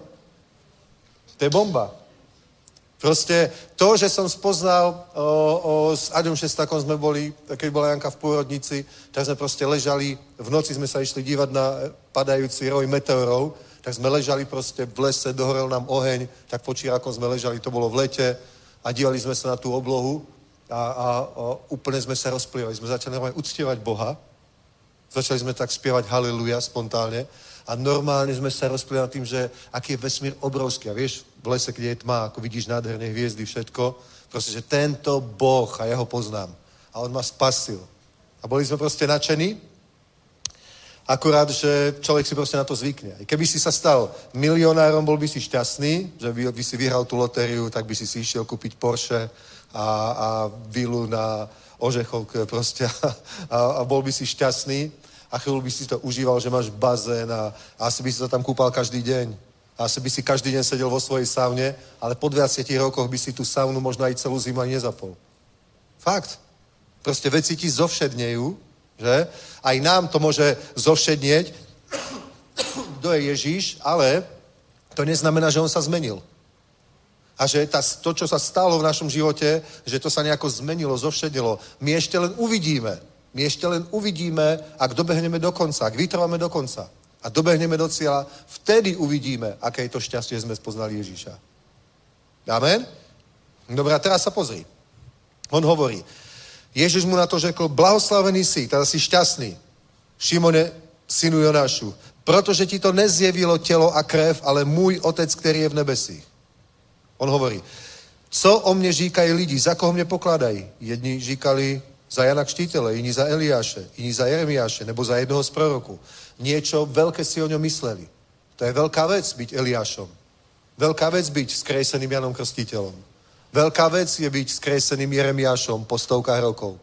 To je bomba. Proste to, že som spoznal s Aďom Šestakom sme boli, keď bola Janka v pôrodnici, tak sme proste ležali, v noci sme sa išli dívať na padajúci roj meteorov, tak sme ležali proste v lese, dohorel nám oheň, tak po čírakom sme ležali, to bolo v lete a dívali sme sa na tú oblohu a úplne sme sa rozplývali. Sme začali normálne uctievať Boha, začali sme tak spievať haleluja spontánne a normálne sme sa rozplývali nad tým, že aký je vesmír obrovský. A vieš, v lese, kde je tma, ako vidíš nádherné hviezdy, všetko, proste, že tento Boh a ja ho poznám. A on ma spasil. A boli sme proste nadšení, akurát, že človek si proste na to zvykne. I keby si sa stal milionárom, bol by si šťastný, že by si vyhral tú lotériu, tak by si išiel kúpiť Porsche a vilu na Ožechovke proste a bol by si šťastný a chvíľu by si to užíval, že máš bazén a asi by si to tam kúpal každý deň. A asi by si každý deň sedel vo svojej saune, ale po 20 rokoch by si tú saunu možno aj celú zimu ani nezapol. Fakt. Proste veci ti zovšednejú, že? Aj nám to môže zovšednieť, kto je Ježíš, ale to neznamená, že on sa zmenil. A že to, čo sa stalo v našom živote, že to sa nejako zmenilo, zovšedilo. My ešte len uvidíme, ak dobehneme do konca, ak vytrváme do konca a dobehneme do cieľa, vtedy uvidíme, aké je to šťastie, že sme spoznali Ježíša. Amen? Dobre, a teraz sa pozri. On hovorí, Ježiš mu na to řekl, blahoslavený si, teda si šťastný, Šimone, synu Jonášu, protože ti to nezjevilo tělo a krev, ale můj otec, který je v nebesích. On hovorí, co o mne říkají lidi, za koho mne pokladají? Jedni říkali za Jana Kštítele, jiní za Eliáše, jiní za Jeremiáše, nebo za jednoho z proroků. Niečo veľké si o ňom mysleli. To je veľká vec byť Eliášom. Veľká vec byť skreseným Janom Krstiteľom. Veľká vec je byť skreseným Jeremiášom po stovkách rokov.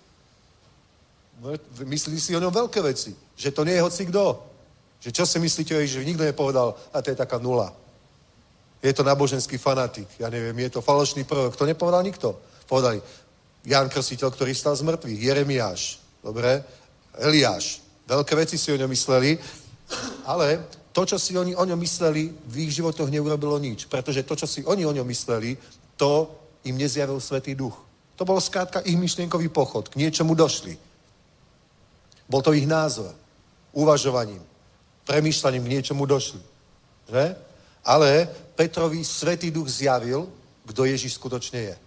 Myslí si o ňom veľké veci. Že to nie je hocikdo. Že čo si myslíte o Ježišovi? Nikto nepovedal, a to je taká nula. Je to náboženský fanatik. Ja neviem, je to falošný prorok. To nepovedal nikto. Povedali Jan Krstiteľ, ktorý stal z mŕtvych. Jeremiáš. Dobre? Eliáš. Veľké veci si o ňom mysleli, ale to, čo si oni o ňom mysleli, v ich životoch neurobilo nič. Pretože to, čo si oni o ňom mysleli, to im nezjavil Svätý Duch. To bol skrátka ich myšlienkový pochod. K niečomu došli. Bol to ich názor. Uvažovaním. Premýšľaním k niečomu došli. Že? Ale Petrovi Svätý Duch zjavil, kto Ježiš skutočne je.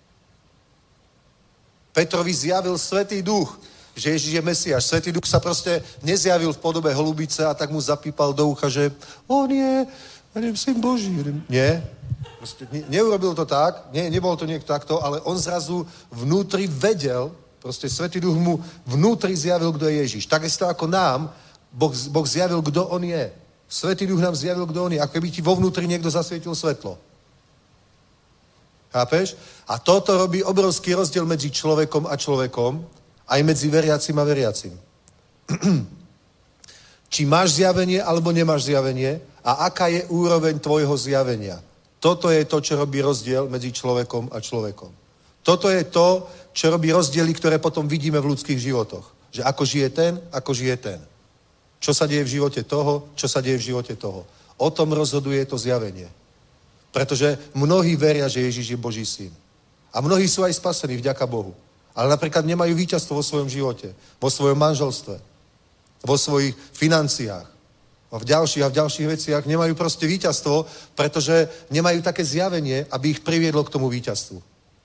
Petrovi zjavil Svätý Duch, že Ježiš je Mesiáš. Svätý Duch sa proste nezjavil v podobe holubice a tak mu zapípal do ucha, že on je Syn Boží. Nie. Proste neurobil to tak, nebol to niekto takto, ale on zrazu vnútri vedel, proste Svätý Duch mu vnútri zjavil, kto je Ježiš. Takisto ako nám, Boh zjavil, kto on je. Svätý Duch nám zjavil, kto on je. Ako by ti vo vnútri niekto zasvietil svetlo. Chápeš? A toto robí obrovský rozdiel medzi človekom a človekom, aj medzi veriacim a veriacim. Či máš zjavenie, alebo nemáš zjavenie a aká je úroveň tvojho zjavenia. Toto je to, čo robí rozdiel medzi človekom a človekom. Toto je to, čo robí rozdiely, ktoré potom vidíme v ľudských životoch. Že ako žije ten, ako žije ten. Čo sa deje v živote toho, čo sa deje v živote toho. O tom rozhoduje to zjavenie. Pretože mnohí veria, že Ježiš je Boží syn. A mnohí sú aj spasení, vďaka Bohu. Ale napríklad nemajú víťazstvo vo svojom živote, vo svojom manželstve, vo svojich financiách a v ďalších veciach nemajú proste víťazstvo, pretože nemajú také zjavenie, aby ich priviedlo k tomu víťazstvu.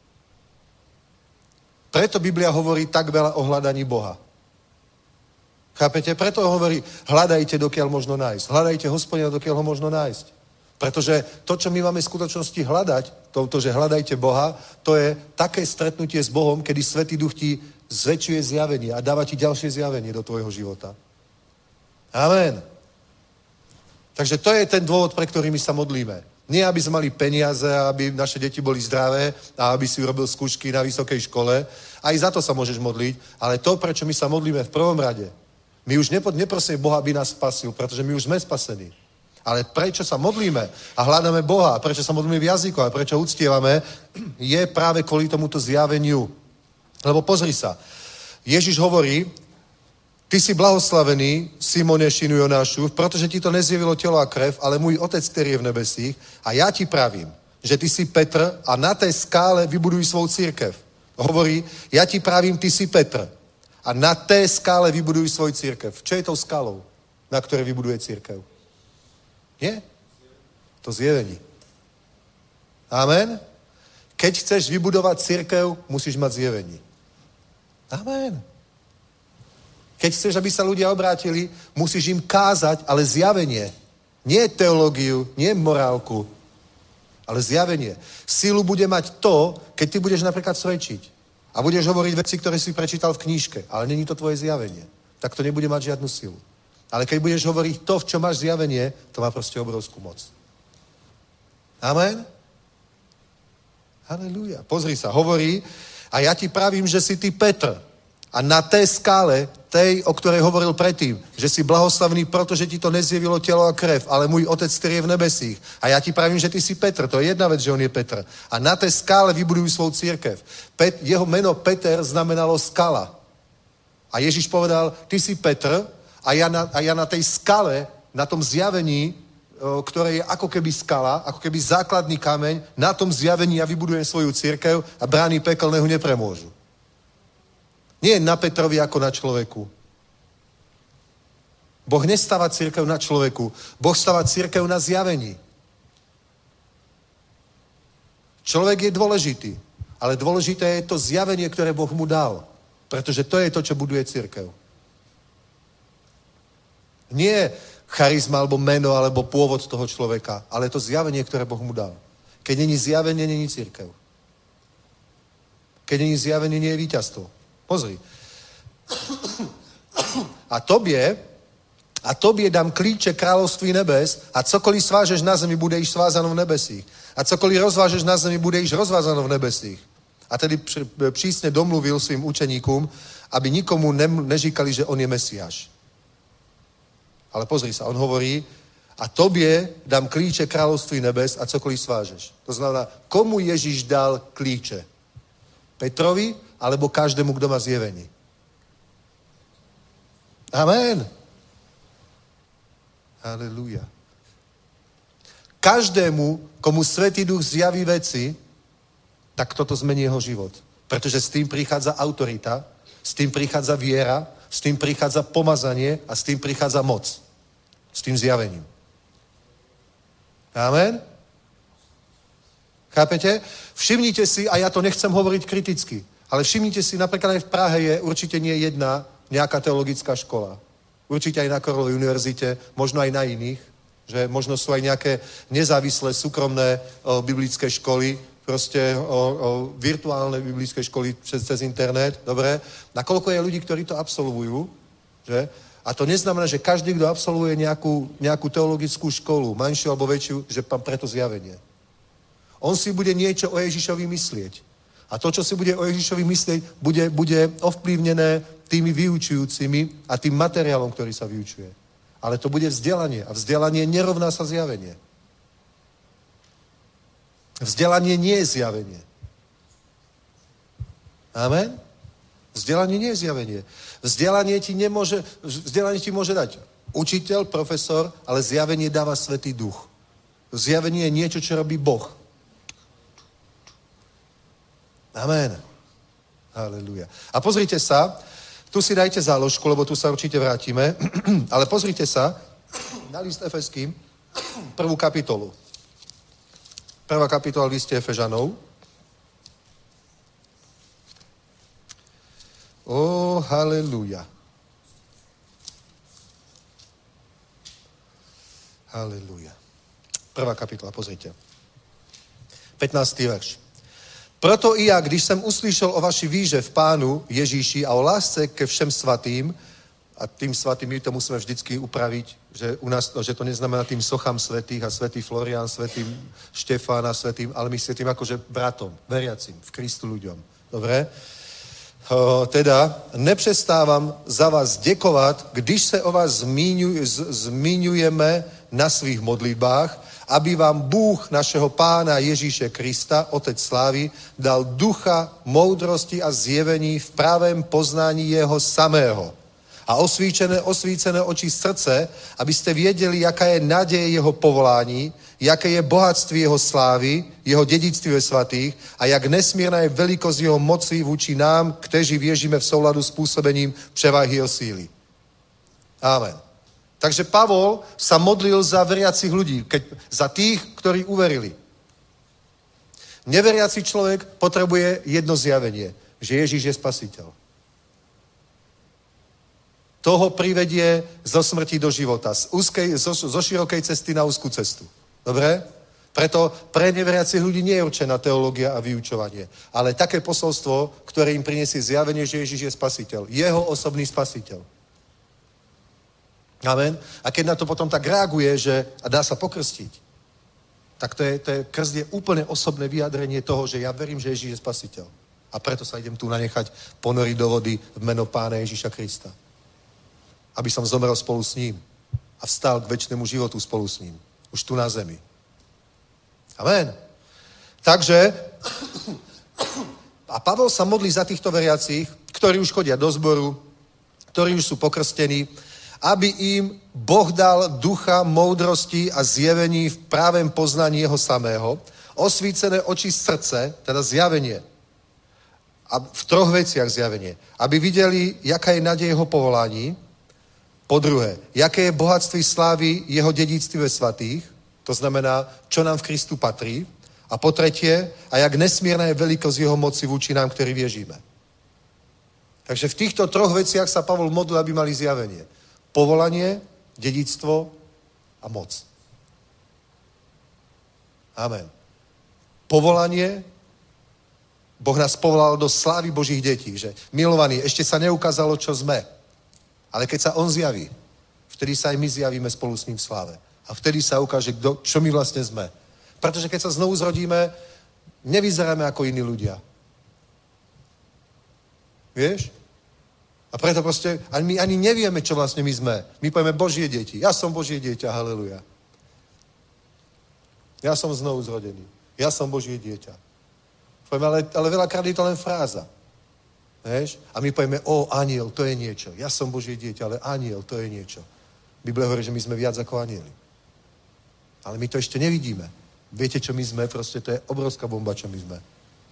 Preto Biblia hovorí tak veľa o hľadaní Boha. Chápete? Preto hovorí, hľadajte, dokiaľ možno nájsť. Hľadajte Hospodina, dokiaľ ho možno nájsť. Pretože to, čo my máme v skutočnosti hľadať, to, že hľadajte Boha, to je také stretnutie s Bohom, kedy Svätý Duch ti zväčšuje zjavenie a dáva ti ďalšie zjavenie do tvojho života. Amen. Takže to je ten dôvod, pre ktorý my sa modlíme. Nie, aby sme mali peniaze, aby naše deti boli zdravé a aby si urobil skúšky na vysokej škole. Aj za to sa môžeš modliť, ale to, prečo my sa modlíme v prvom rade, my už neprosíme Boha, aby nás spasil, pretože my už sme spasení. Ale prečo sa modlíme a hľadáme Boha, a prečo sa modlíme v jazyku a prečo uctievame, je práve kvôli tomuto zjaveniu. Lebo pozri sa, Ježiš hovorí, ty si blahoslavený, Simone, synu Jonášu, protože ti to nezjevilo tělo a krev, ale můj otec, který je v nebesích, a já ti pravím, že ty si Petr a na té skále vybuduj svou církev. Hovorí, já ti pravím, ty si Petr a na té skále vybuduj svoj církev. Čo je tou skálou, na které vybuduje církev? Nie? To zjevení. Amen? Keď chceš vybudovať cirkev, musíš mať zjevení. Amen. Keď chceš, aby sa ľudia obrátili, musíš im kázať, ale zjavenie. Nie teológiu, nie morálku, ale zjavenie. Sílu bude mať to, keď ty budeš napríklad svedčiť. A budeš hovoriť veci, ktoré si prečítal v knížke, ale není to tvoje zjavenie. Tak to nebude mať žiadnu silu. Ale keď budeš hovoriť to, v čom máš zjavenie, to má proste obrovskú moc. Amen? Halelúja. Pozri sa, hovorí, a ja ti pravím, že si ty Petr. A na té skále, tej, o ktorej hovoril predtým, že si blahoslavný, protože ti to nezjevilo tělo a krev, ale můj otec, který je v nebesích. A já ti pravím, že ty si Petr. To je jedna vec, že on je Petr. A na té skále vybudujú svou církev. Jeho meno Peter znamenalo skala. A Ježiš povedal, ty si Petr a ja na tej skale, na tom zjavení ktoré je ako keby skala, ako keby základný kameň, na tom zjavení ja vybudujem svoju cirkev a brány pekelného nepremôžu. Nie na Petrovi ako na človeku. Boh nestáva cirkev na človeku. Boh stáva cirkev na zjavení. Človek je dôležitý, ale dôležité je to zjavenie, ktoré Boh mu dal. Pretože to je to, čo buduje cirkev. Nie charizma, alebo meno, alebo pôvod toho človeka, ale to zjavenie, ktoré Boh mu dal. Keď není zjavenie, není cirkev. Keď není zjavenie, nie je víťazstvo. Pozri. A tobě dám klíče království nebes a cokoliv svážeš na zemi, bude již svázáno v nebesích. A cokoliv rozvážeš na zemi, bude již rozvázáno v nebesích. A tedy přísně domluvil svým učeníkům, aby nikomu neříkali, že on je Mesiáš. Ale pozri sa, on hovorí, a tobě dám klíče království nebes a cokoliv svážeš. To znamená, komu Ježíš dal klíče? Petrovi, alebo každému, kdo má zjevení? Amen. Halelúja. Každému, komu Svätý Duch zjaví veci, tak toto zmení jeho život. Pretože s tým prichádza autorita, s tým prichádza viera, s tým prichádza pomazanie a s tým prichádza moc. S tým zjavením. Amen? Chápete? Všimnite si, a ja to nechcem hovoriť kriticky, ale všimnite si, napríklad aj v Prahe je určite nie jedna nejaká teologická škola. Určite aj na Karlovej univerzite, možno aj na iných, že možno sú aj nejaké nezávislé, súkromné biblické školy, proste virtuálne biblické školy cez internet, dobre? Nakoľko je ľudí, ktorí to absolvujú, že? A to neznamená, že každý, kto absolvuje nejakú teologickú školu, menšiu alebo väčšiu, že má preto zjavenie. On si bude niečo o Ježišovi myslieť. A to, čo si bude o Ježišovi myslieť, bude ovplyvnené tými vyučujúcimi a tým materiálom, ktorý sa vyučuje. Ale to bude vzdelanie. A vzdelanie nerovná sa zjavenie. Vzdelanie nie je zjavenie. Amen? Vzdelanie nie je zjavenie. Vzdelanie ti môže dať učiteľ, profesor, ale zjavenie dáva Svätý Duch. Zjavenie je niečo, čo robí Boh. Amen. Halleluja. A pozrite sa, tu si dajte záložku, lebo tu sa určite vrátime, ale pozrite sa na list Efeským, 1. kapitolu. 1. kapitola liste Efežanov. Halleluja. Halleluja. 1. kapitola, pozrite. 15. verš. Proto i já, když jsem uslyšel o vaší víře v Pánu Ježíši a o lásce ke všem svatým, a tým svatým my to musíme vždycky upraviť, že u nás, že to neznamená tým sochám svätých a svätý Florián, svätým Štefán a svätým, ale my svätým akože bratom, veriacim, v Kristu ľuďom. Dobre? Teda nepřestávám za vás děkovat, když se o vás zmiňujeme na svých modlitbách, aby vám Bůh našeho Pána Ježíše Krista, Otec slávy, dal ducha, moudrosti a zjevení v pravém poznání jeho samého. A osvícené oči srdce, abyste věděli, jaká je naděje jeho povolání, jaké je bohatství jeho slávy, jeho dědictví ve svatých a jak nesmírná je velikost jeho moci vůči nám, kteří věříme v souladu s působením převahy jeho síly. Amen. Takže Pavol sa modlil za veriacich ľudí, za tých, ktorí uverili. Neveriaci človek potrebuje jedno zjavenie, že Ježíš je spasiteľ. Toho privedie zo smrti do života, zo širokej cesty na úzkú cestu. Dobre? Preto pre neveriacich ľudí nie je určená teológia a vyučovanie, ale také posolstvo, ktoré im prinesie zjavenie, že Ježíš je spasiteľ. Jeho osobný spasiteľ. Amen. A keď na to potom tak reaguje, že a dá sa pokrstiť, tak krst je úplne osobné vyjadrenie toho, že ja verím, že Ježíš je spasiteľ. A preto sa idem tu nanechať ponoriť do vody v meno Pána Ježíša Krista. Aby som zomrel spolu s ním a vstal k večnému životu spolu s ním. Už tu na zemi. Amen. Takže a Pavol sa modlí za týchto veriacich, ktorí už chodia do zboru, ktorí už sú pokrstení aby im Boh dal ducha moudrosti a zjevení v právém poznaní jeho samého, osvícené oči srdce, teda zjavenie. A v 3 veciach zjavenie. Aby videli, jaká je naděj jeho povolání, po druhé, jaké je bohatství slávy jeho dědictví ve svatých, to znamená, čo nám v Kristu patrí, a po tretie, a jak nesmírna je velikost jeho moci vůči nám, ktorí věříme. Takže v týchto 3 veciach sa Pavol modlil, aby mali zjavenie. Povolanie, dědictvo a moc. Amen. Povolanie, Boh nás povolal do slávy Božích detí, že milovaní, ešte sa neukázalo, čo sme. Ale keď sa on zjaví, vtedy sa aj my zjavíme spolu s ním v sláve. A vtedy sa ukáže, čo my vlastne sme. Pretože keď sa znovu zrodíme, nevyzeráme ako iní ľudia. Vieš? A preto proste my ani nevieme, čo vlastne my sme. My povieme Božie deti. Ja som Božie dieťa, haleluja. Ja som znovu zrodený. Ja som Božie dieťa. Povieme, ale veľakrát je to len fráza. Vieš? A my povieme, aniel, to je niečo. Ja som Božie dieťa, ale aniel, to je niečo. Biblia hovorí, že my sme viac ako anieli. Ale my to ešte nevidíme. Viete, čo my sme? Proste to je obrovská bomba, čo my sme.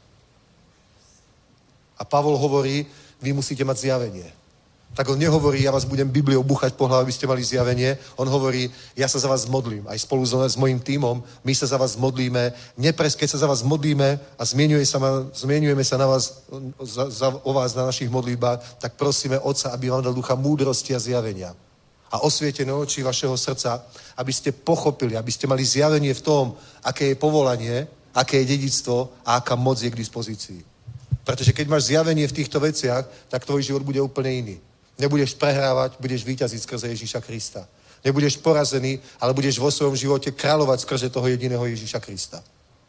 A Pavol hovorí, vy musíte mať zjavenie. Tak on nehovorí, ja vás budem Bibliou buchať po hlave, aby ste mali zjavenie. On hovorí, ja sa za vás modlím. Aj spolu s mojím tímom, my sa za vás modlíme. Keď sa za vás modlíme a zmienujeme sa na vás, o vás na našich modlitbách, tak prosíme Otca, aby vám dal ducha múdrosti a zjavenia. A osvietené oči vašeho srdca, aby ste pochopili, aby ste mali zjavenie v tom, aké je povolanie, aké je dedičstvo a aká moc je k dispozícii. Pretože keď máš zjavenie v týchto veciach, tak tvoj život bude úplne iný. Nebudeš prehrávať, budeš víťaziť skrze Ježíša Krista. Nebudeš porazený, ale budeš vo svojom živote kráľovať skrze toho jediného Ježíša Krista.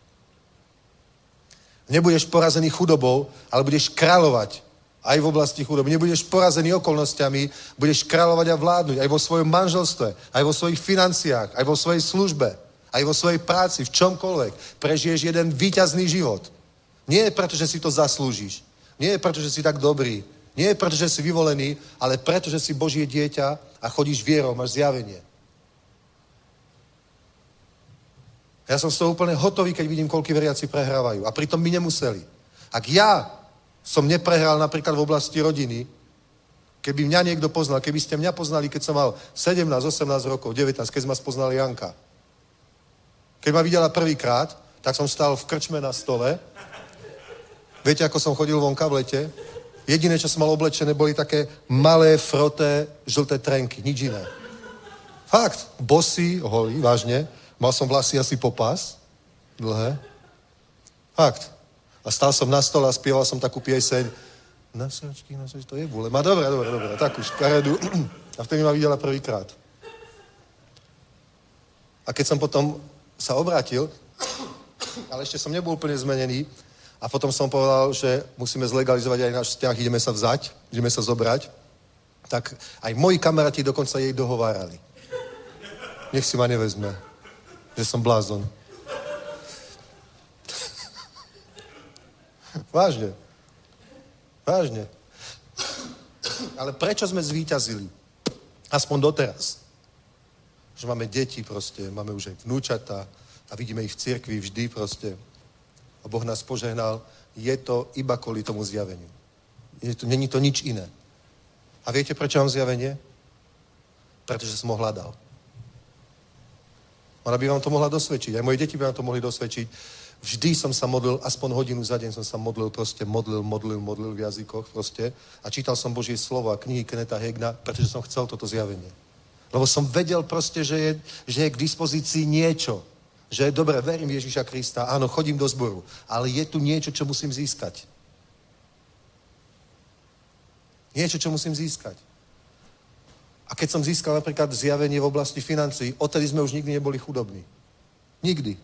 Nebudeš porazený chudobou, ale budeš kráľovať aj v oblasti chudoby. Nebudeš porazený okolnostiami, budeš kráľovať a vládnuť aj vo svojom manželstve, aj vo svojich financiách, aj vo svojej službe, aj vo svojej práci, v čomkoľvek. Prežiješ jeden víťazný život. Nie je preto, že si to zaslúžiš. Nie je preto, že si tak dobrý. Nie je preto, že si vyvolený, ale preto, že si Božie dieťa a chodíš vierou, máš zjavenie. Ja som z toho úplne hotový, keď vidím, koľko veriaci prehrávajú. A pritom by nemuseli. Ak ja som neprehral napríklad v oblasti rodiny, keby mňa niekto poznal, keby ste mňa poznali, keď som mal 17, 18 rokov, 19, keď ma spoznal Janka. Keď ma videla prvýkrát, tak som stál v krčme na stole. Viete, ako som chodil vonka v lete? Jediné, čo som mal oblečené, boli také malé, froté, žlté trenky. Nič iné. Fakt. Bosý, holý, vážne. Mal som vlasy asi po pás. Dlhé. Fakt. A stál som na stole a spieval som takú pieseň. Nasačky, to je vôle. Dobre. Takú škaredu. A vtedy ma videla prvýkrát. A keď som potom sa obrátil, ale ešte som nebol úplne zmenený, a potom som povedal, že musíme zlegalizovať aj náš vzťah, ideme sa vzať, ideme sa zobrať. Tak aj moji kamaráti dokonca jej dohovárali. Nech si ma nevezme, že som blázon. Vážne. Ale prečo sme zvíťazili? Aspoň doteraz. Že máme deti proste, máme už aj vnúčata a vidíme ich v cirkvi vždy proste. A Boh nás požehnal, je to iba kvôli tomu zjaveniu. Není to nič iné. A viete, prečo mám zjavenie? Pretože som ho hľadal. Ona by vám to mohla dosvedčiť. Aj moje deti by vám to mohli dosvedčiť. Vždy som sa modlil, aspoň hodinu za deň som sa modlil v jazykoch proste. A čítal som Božie slovo a knihy Kenneta Hagina, pretože som chcel toto zjavenie. Lebo som vedel proste, že je k dispozícii niečo. Že dobre, verím Ježíša Krista, áno, chodím do zboru, ale je tu niečo, čo musím získať. Niečo, čo musím získať. A keď som získal napríklad zjavenie v oblasti financií, odtedy sme už nikdy neboli chudobní. Nikdy.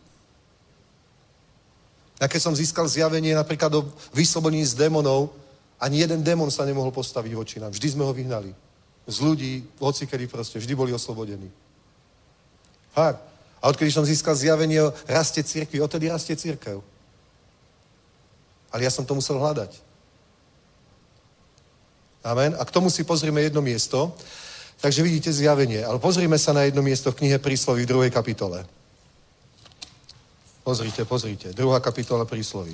A keď som získal zjavenie napríklad o vyslobodení z démonov, ani jeden démon sa nemohol postaviť voči nám. Vždy sme ho vyhnali. Z ľudí, hocikedy proste, vždy boli oslobodení. Fakt. A odkedy som získal zjavenie o raste cirkvi, odtedy rastie cirkev. Ale ja som to musel hľadať. Amen. A k tomu si pozrieme jedno miesto. Takže vidíte zjavenie. Ale pozrime sa na jedno miesto v knihe Prísloví v 2. kapitole. Pozrite. 2. kapitola Prísloví.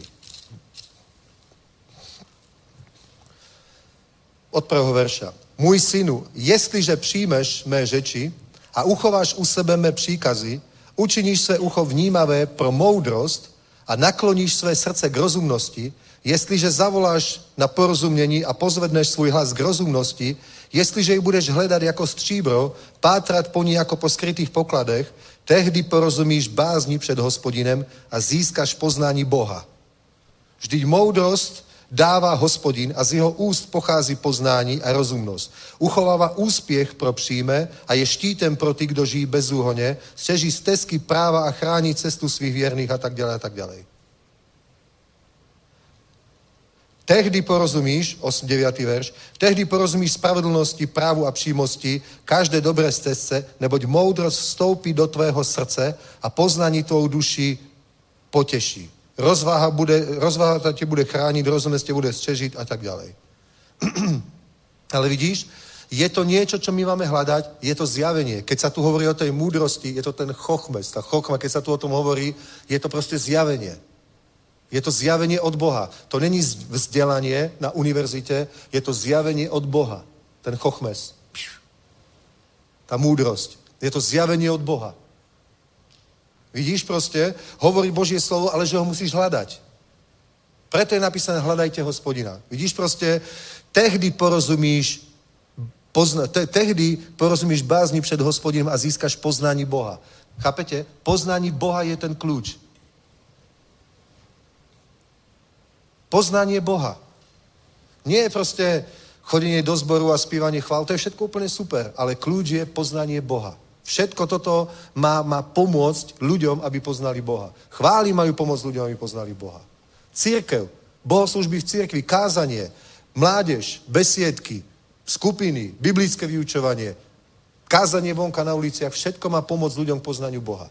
Od 1. verša. Můj synu, jestliže přijmeš mé řeči a uchováš u sebe mé příkazy, učiníš své ucho vnímavé pro moudrost a nakloníš své srdce k rozumnosti, jestliže zavoláš na porozumění a pozvedneš svůj hlas k rozumnosti, jestliže ji budeš hledat jako stříbro, pátrat po ní jako po skrytých pokladech, tehdy porozumíš bázni před Hospodinem a získáš poznání Boha. Vždyť moudrost dává Hospodin a z jeho úst pochází poznání a rozumnost. Uchovává úspěch pro příjme a je štítem pro ty, kdo žijí bezúhonně, střeží stezky práva a chrání cestu svých věrných a tak dále. Tehdy porozumíš, 9. verš, tehdy porozumíš spravedlnosti, právu a přímosti, každé dobré stezce, neboť moudrost vstoupí do tvého srdce a poznání tvou duši potěší. Rozváha tě bude chránit, rozumnosť tě bude střežit a tak ďalej. Ale vidíš, je to niečo, čo my máme hľadať, je to zjavenie. Keď sa tu hovorí o tej múdrosti, je to ten chochmes, tá chochma, keď sa tu o tom hovorí, je to proste zjavenie. Je to zjavenie od Boha. To není vzdelanie na univerzite, je to zjavenie od Boha. Ten chochmes. Tá múdrosť. Je to zjavenie od Boha. Vidíš proste, hovorí Božie slovo, ale že ho musíš hľadať. Preto je napísané, hľadajte Hospodina. Vidíš proste, tehdy porozumíš bázni před Hospodinem a získaš poznání Boha. Chápete? Poznání Boha je ten kľúč. Poznanie Boha. Nie je proste chodenie do zboru a spívanie chvál, to je všetko úplne super, ale kľúč je poznanie Boha. Všetko toto má pomôcť ľuďom, aby poznali Boha. Chvály majú pomôcť ľuďom, aby poznali Boha. Cirkev, bohoslúžby v cirkvi, kázanie, mládež, besiedky, skupiny, biblické vyučovanie, kázanie vonka na uliciach, všetko má pomôcť ľuďom k poznaniu Boha.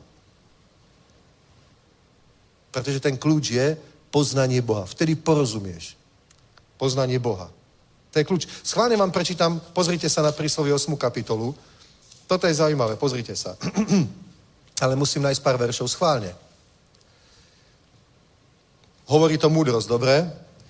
Pretože ten kľúč je poznanie Boha. Vtedy porozumieš. Poznanie Boha. To je kľúč. Schválne vám prečítam, pozrite sa na Príslovie 8. kapitolu. Toto je zaujímavé, pozrite sa. Ale musím nájsť pár veršov schválne. Hovorí to múdrosť, dobre?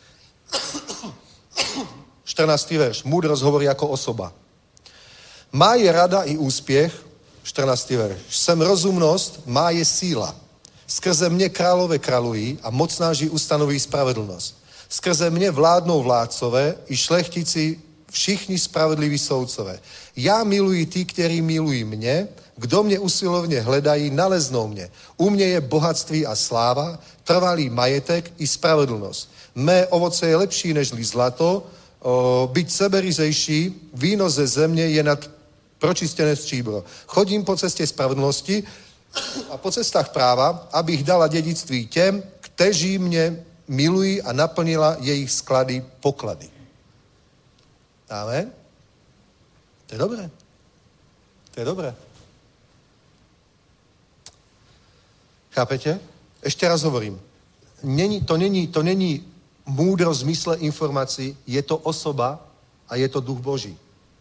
14. verš. Múdrosť hovorí ako osoba. Má je rada i úspěch, 14. verš. Jsem rozumnosť, má je síla. Skrze mne králové kráľují a mocnáži ustanoví spravedlnosť. Skrze mne vládnou vládcové i šlechtici všichni spravedliví soudcové. Já miluji ty, kteří milují mě, kdo mě usilovně hledají, naleznou mě. U mě je bohatství a sláva, trvalý majetek i spravedlnosť. Mé ovoce je lepší nežli zlato, byť seberyzejší, víno ze země je nad pročistené stříbro. Chodím po cestě spravedlnosti a po cestách práva, abych dala dědictví těm, kteří mě milují a naplnila jejich sklady poklady. Amen? To je dobré. To je dobré. Chápete? Ešte raz hovorím. To není múdrosť v zmysle informácií, je to osoba a je to duch Boží.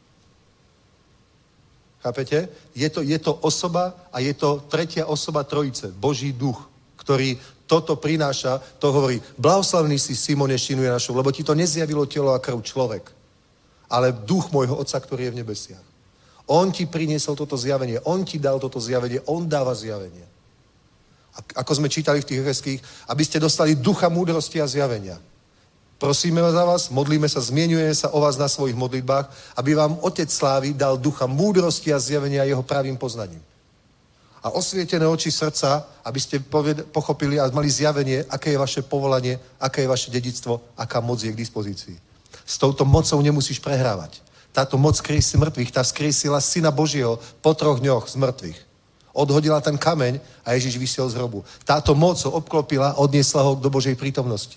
Chápete? Je to osoba a je to tretia osoba trojice, Boží duch, ktorý toto prináša, to hovorí, blahoslavný si Simone Šinu Janašov, lebo ti to nezjavilo telo a krv človek, ale duch môjho Otca, ktorý je v nebesiach. On ti priniesol toto zjavenie, on ti dal toto zjavenie, on dáva zjavenie. Ako sme čítali v tých Efeských, aby ste dostali ducha múdrosti a zjavenia. Prosíme za vás, modlíme sa, zmienujeme sa o vás na svojich modlitbách, aby vám Otec slávy dal ducha múdrosti a zjavenia jeho pravým poznaním. A osvietené oči srdca, aby ste pochopili a mali zjavenie, aké je vaše povolanie, aké je vaše dedičstvo, aká moc je k dispozícii. S touto mocou nemusíš prehrávať. Táto moc skriesí mŕtvych, tá skriesila Syna Božieho po 3 dňoch z mŕtvych. Odhodila ten kameň a Ježiš vyšiel z hrobu. Táto moc ho obklopila, odniesla ho do Božej prítomnosti.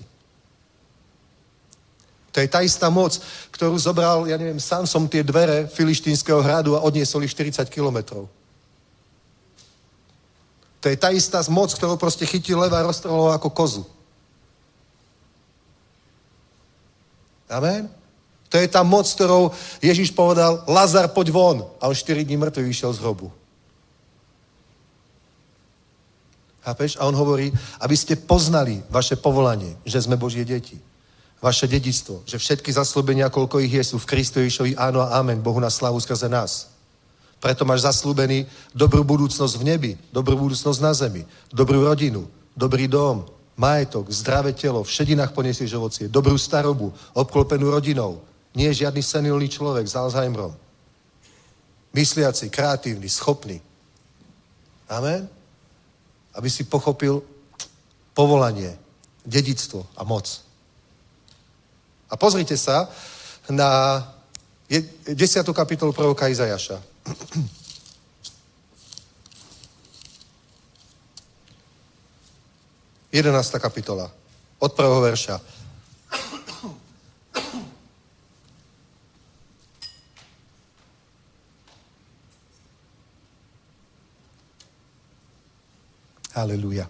To je tá istá moc, ktorú zobral, ja neviem, Samson tie dvere filištínskeho hradu a odniesol ich 40 kilometrov. To je tá istá moc, ktorú proste chytil leva a roztrhol ho ako kozu. Amen? To je tá moc, ktorou Ježiš povedal, Lazar, poď von. A on 4 dní mŕtvy vyšiel z hrobu. Chápeš? A on hovorí, aby ste poznali vaše povolanie, že sme Božie deti. Vaše dedičstvo, že všetky zasľúbenia, koľko ich je, sú v Kristu Ježišovi, áno a amen, Bohu na slávu skrze nás. Preto máš zaslúbený dobrú budúcnosť v nebi, dobrú budúcnosť na zemi, dobrú rodinu, dobrý dom, majetok, zdravé telo, v šedinách poniesieš ovocie, dobrú starobu, obklopenú rodinou. Nie je žiadny senilný človek s Alzheimerom. Mysliaci, kreatívny, schopný. Amen? Aby si pochopil povolanie, dedičstvo a moc. A pozrite sa na 10. kapitolu proroka Izajaša. Jedenásta kapitola. Od 1. verša. Haleluja.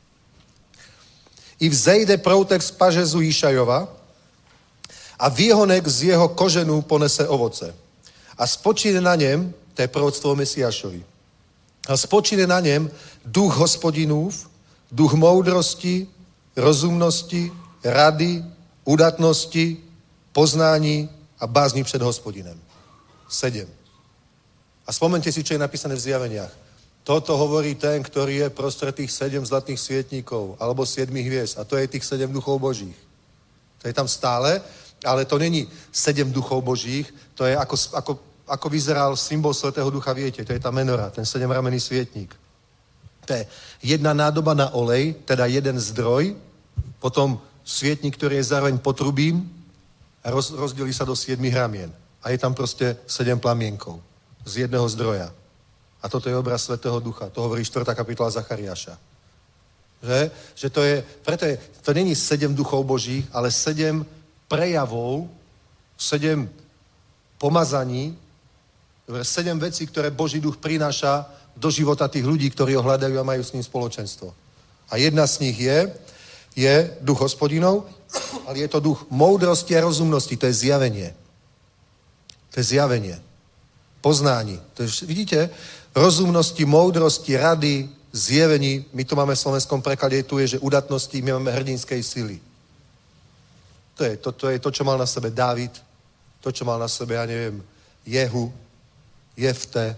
I vzejde proutek z pažezu Išajova a výhonek z jeho koženu ponese ovoce. A spočíne na něm, to je proroctvo o Mesiášovi, a spočíne na něm duch Hospodinův, duch moudrosti, rozumnosti, rady, udatnosti, poznání a bázní před Hospodinem. 7. A spomente si, čo je napísané v Zjaveniach. Toto hovorí ten, ktorý je prostred tých 7 zlatých svietníkov, alebo 7 hviezd. A to je tých 7 duchov božích. To je tam stále, ale to není 7 duchov božích, to je ako vyzeral symbol Svätého Ducha, viete, to je tá menora, ten 7ramenný svietník. To je jedna nádoba na olej, teda jeden zdroj, potom svietník, ktorý je zároveň potrubím a rozdelí sa do 7 ramien. A je tam proste 7 plamienkov z jedného zdroja. A toto je obraz Svätého Ducha. To hovorí 4. kapitola Zachariáša. Že to je, preto je, to není 7 duchov božích, ale 7 prejavov, 7 pomazaní, 7 vecí, ktoré Boží duch prináša do života tých ľudí, ktorí ho hľadajú a majú s ním spoločenstvo. A jedna z nich je duch Hospodinov, ale je to duch moudrosti a rozumnosti, to je zjavenie. To je zjavenie. Poznání. To je, vidíte, rozumnosti, moudrosti, rady, zjevení, my to máme v slovenskom preklade, tu je, že udatnosti, my máme hrdinskej sily. To je to, čo mal na sebe Dávid, to, čo mal na sebe, ja neviem, Jehu, Jefte,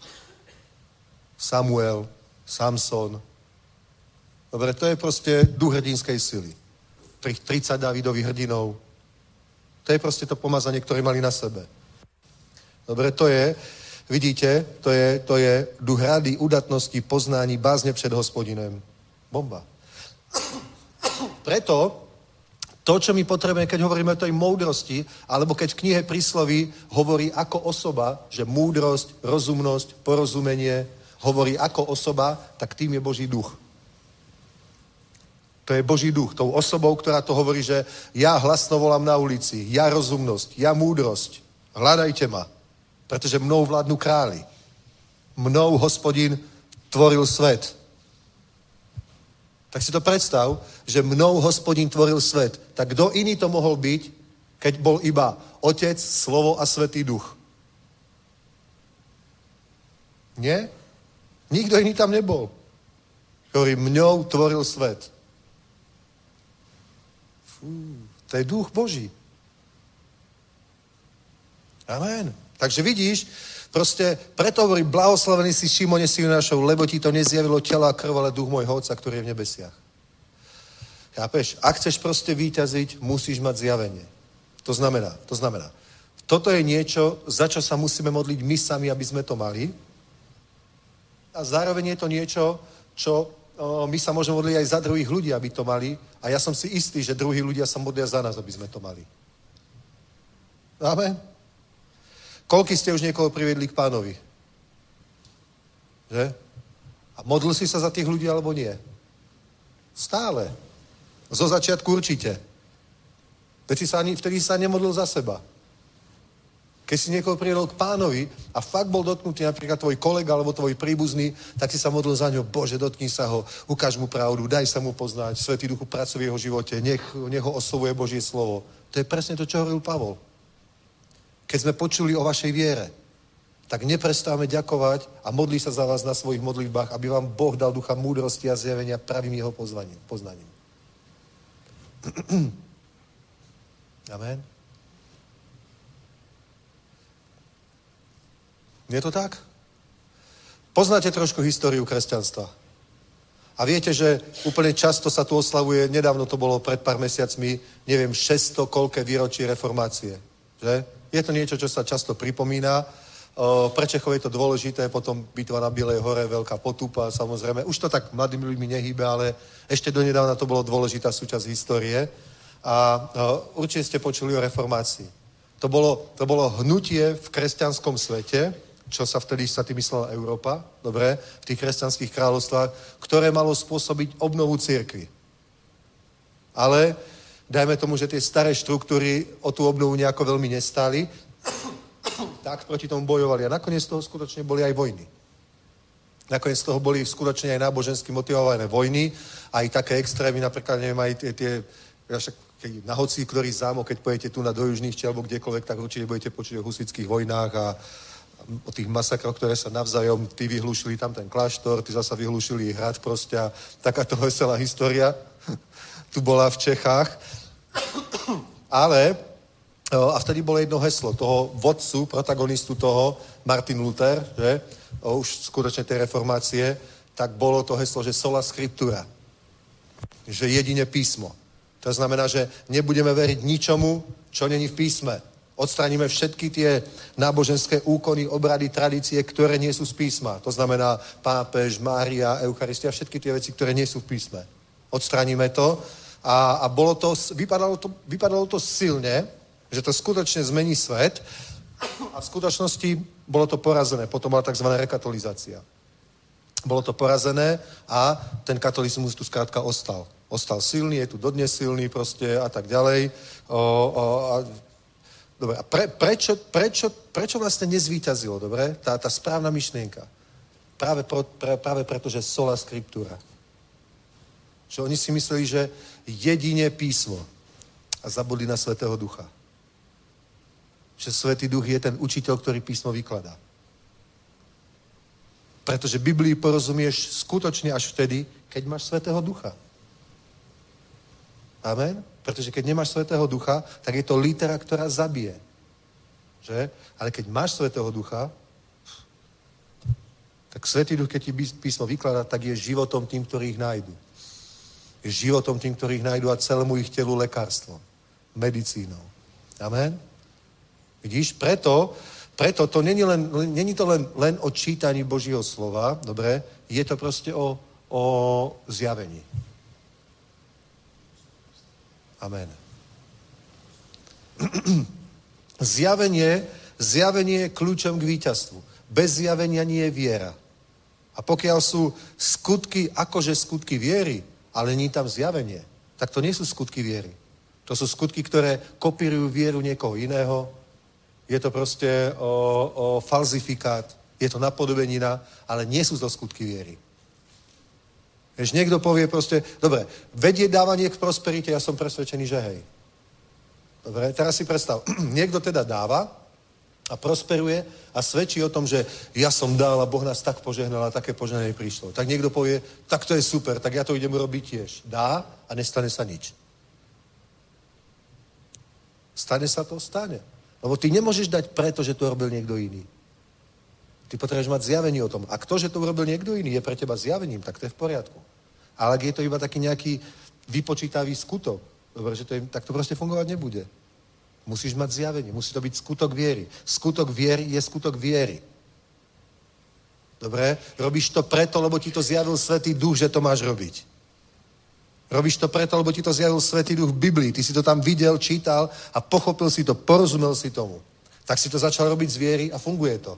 Samuel, Samson. Dobre, to je proste duch hrdinskej sily. 30 Dávidových hrdinov. To je proste to pomazanie, ktoré mali na sebe. Dobre, to je, vidíte, to je duch rady, udatnosti, poznání, bázne před Hospodinem. Bomba. Preto to, čo my potrebujeme, keď hovoríme o tej moudrosti, alebo keď v knihe Prísloví hovorí ako osoba, že múdrosť, rozumnosť, porozumenie hovorí ako osoba, tak tým je Boží duch. To je Boží duch, tou osobou, ktorá to hovorí, že ja hlasno volám na ulici, ja rozumnosť, ja múdrosť, hľadajte ma, pretože mnou vládnu králi. Mnou Hospodin tvoril svet. Tak si to predstav, že mnou Hospodin tvoril svet. Tak kto iný to mohol byť, keď bol iba Otec, Slovo a Svätý Duch? Nie? Nikto iný tam nebol. Ktorý mňou tvoril svet. To je duch Boží. Amen. Takže vidíš, proste preto hovorí, blahoslavený si Šimone, synu našou, lebo ti to nezjavilo telo a krv, ale duch môjho Otca, ktorý je v nebesiach. Chápeš? Ak chceš proste víťaziť, musíš mať zjavenie. To znamená, toto je niečo, za čo sa musíme modliť my sami, aby sme to mali. A zároveň je to niečo, čo my sa môžeme modliť aj za druhých ľudí, aby to mali. A ja som si istý, že druhí ľudia sa modlia za nás, aby sme to mali. Amen. Koľký ste už niekoho priviedli k Pánovi? Že? A modlil si sa za tých ľudí, alebo nie? Stále. Zo začiatku určite. Vtedy sa nemodlil za seba. Keď si niekoho priviedol k Pánovi a fakt bol dotknutý, napríklad tvoj kolega alebo tvoj príbuzný, tak si sa modlil za ňo. Bože, dotkni sa ho, ukáž mu pravdu, daj sa mu poznať, Svätý Duchu pracuje v jeho živote, nech ho oslovuje Božie slovo. To je presne to, čo hovoril Pavol. keď sme počuli o vašej viere, tak neprestáme ďakovať a modlí sa za vás na svojich modlitbách, aby vám Boh dal ducha múdrosti a zjavenia pravým jeho poznaním. Amen. Je to tak? Poznáte trošku históriu kresťanstva. A viete, že úplne často sa tu oslavuje, nedávno to bolo pred pár mesiacmi, neviem, 600 koľké výročí reformácie. Že? Je to niečo, čo sa často pripomína. Pre Čechov je to dôležité, potom bitva na Bielej hore, veľká potupa, samozrejme. Už to tak mladými ľuďmi nehýbe, ale ešte donedávna to bolo dôležitá súčasť histórie. A určite ste počuli o reformácii. To bolo hnutie v kresťanskom svete, čo sa vtedy sa tým myslela Európa, dobre, v tých kresťanských kráľovstvách, ktoré malo spôsobiť obnovu cirkvi. Ale dajme tomu, že tie staré štruktúry o tú obnovu nejako veľmi nestáli, tak proti tomu bojovali. A nakoniec z toho skutočne boli aj vojny. Nakoniec z toho boli skutočne aj nábožensky motivované vojny, aj také extrémy, napríklad, neviem, aj tie na hoci ktorý zámok, keď pojete tu do Južných či alebo kdekoľvek, tak určite budete počuť o husitských vojnách a o tých masakroch, ktoré sa navzájom, tí vyhlúšili tam ten kláštor, tí zasa vyhlúšili hrad proste a takáto veselá história tu bola v Čechách. Ale a vtedy bolo jedno heslo toho vodcu, protagonistu toho, Martin Luther, že už skutočne tej reformácie, tak bolo to heslo, že sola scriptura, že jedine písmo. To znamená, že nebudeme veriť ničomu, čo není v písme. Odstraníme všetky tie náboženské úkony, obrady, tradície, ktoré nie sú z písma. To znamená pápež, Mária, Eucharistia, všetky tie veci, ktoré nie sú v písme. Odstraníme to a vypadalo to silne, že to skutočne zmení svet a v skutočnosti bolo to porazené. Potom bola tzv. Rekatolizácia. Bolo to porazené a ten katolizmus tu skrátka ostal. Ostal silný, je tu dodnes silný proste a tak ďalej. Dobre, a prečo vlastne nezvíťazilo, dobre? Tá správna myšlienka. Práve preto, že sola scriptura. Že oni si mysleli, že jedine písmo a zabudli na Svätého Ducha. Že Svätý Duch je ten učiteľ, ktorý písmo vykladá. Pretože Biblii porozumieš skutočne až vtedy, keď máš Svätého Ducha. Amen? Pretože keď nemáš Svätého Ducha, tak je to litera, ktorá zabije. Že? Ale keď máš Svätého Ducha, tak Svätý Duch, keď ti písmo vykladá, tak je životom tým, ktorých nájdu. Je životom tým, ktorých nájdu a celému ich telu lekárstvo. Medicínou. Amen? Vidíš? Preto to není to len o čítaní Božího slova, dobre? Je to proste o zjavení. Amen. Zjavenie je kľúčom k víťazstvu. Bez zjavenia nie je viera. A pokiaľ sú skutky, akože skutky viery, ale nie tam zjavenie, tak to nie sú skutky viery. To sú skutky, ktoré kopírujú vieru niekoho iného. Je to proste o falzifikát, je to napodobenina, ale nie sú to skutky viery. Keď niekto povie proste, dobre, vedie dávanie k prosperite, ja som presvedčený, že hej. Dobre, teraz si predstav, niekto teda dáva a prosperuje a svedčí o tom, že ja som dal a Boh nás tak požehnal a také požehnanie prišlo. Tak niekto povie, tak to je super, tak ja to idem urobiť tiež. Dá a nestane sa nič. Stane sa to? Stane. Lebo ty nemôžeš dať preto, že to robil niekto iný. Ty potrebuješ mať zjavenie o tom. A to, že to urobil niekto iný, je pre teba zjavením, tak to je v poriadku. Ale ak je to iba taký nejaký vypočítavý skutok, dobre, že tak to proste fungovať nebude. Musíš mať zjavenie, musí to byť skutok viery. Skutok viery je skutok viery. Dobre? Robíš to preto, lebo ti to zjavil Svätý Duch, že to máš robiť. Robíš to preto, lebo ti to zjavil Svätý Duch v Biblii. Ty si to tam videl, čítal a pochopil si to, porozumel si tomu. Tak si to začal robiť z viery a funguje to.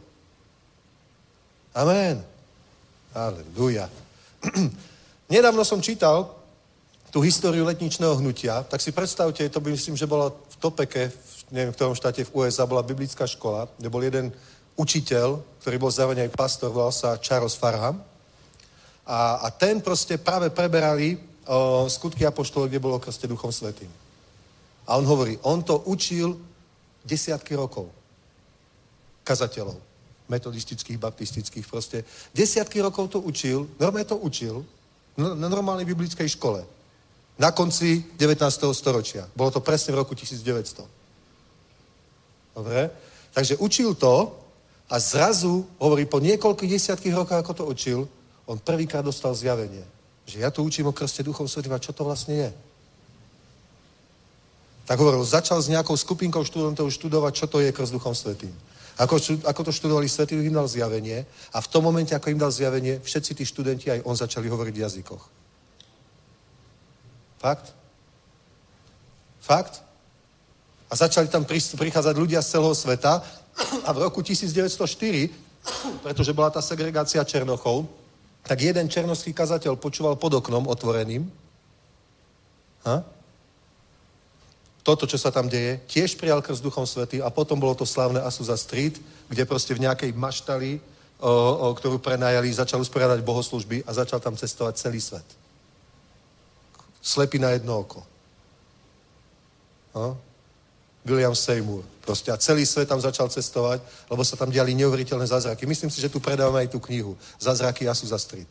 Amen. Aleluja. Nedávno som čítal tú históriu letničného hnutia, tak si predstavte, to by myslím, že bolo v Topeke, neviem v ktorom štáte v USA, bola biblická škola, kde bol jeden učiteľ, ktorý bol zároveň aj pastor, volal sa Charles Farham. A ten proste práve preberali skutky apoštolov, kde bolo krste Duchom Svätým. A on hovorí, on to učil desiatky rokov. kazateľov. Metodistických, baptistických proste. Desiatky rokov to učil, normálne to učil na normálnej biblickej škole. Na konci 19. storočia. Bolo to presne v roku 1900. Dobre? Takže učil to a zrazu, hovorí, po niekoľkých desiatkých rokoch, ako to učil, on prvýkrát dostal zjavenie. Že ja tu učím o krste Duchom Svätým a čo to vlastne je. Tak hovoril, začal s nejakou skupinkou študentov študovať, čo to je krst Duchom Svätým. Ako to študovali, Svätý Duch im dal zjavenie a v tom momente, ako im dal zjavenie, všetci tí študenti, aj on začali hovoriť v jazykoch. Fakt? Fakt? A začali tam prichádzať ľudia z celého sveta a v roku 1904, pretože bola tá segregácia Černochov, tak jeden černošský kazateľ počúval pod oknom otvoreným. Toto, čo sa tam deje, tiež prijal krst Duchom Svätým a potom bolo to slávne Azusa Street, kde proste v nejakej maštali, ktorú prenajali, začal usporiadať bohoslužby a začal tam cestovať celý svet. Slepý na jedno oko. William Seymour. Proste a celý svet tam začal cestovať, lebo sa tam diali neuveriteľné zázraky. Myslím si, že tu predávame aj tú knihu. Zázraky Azusa Street.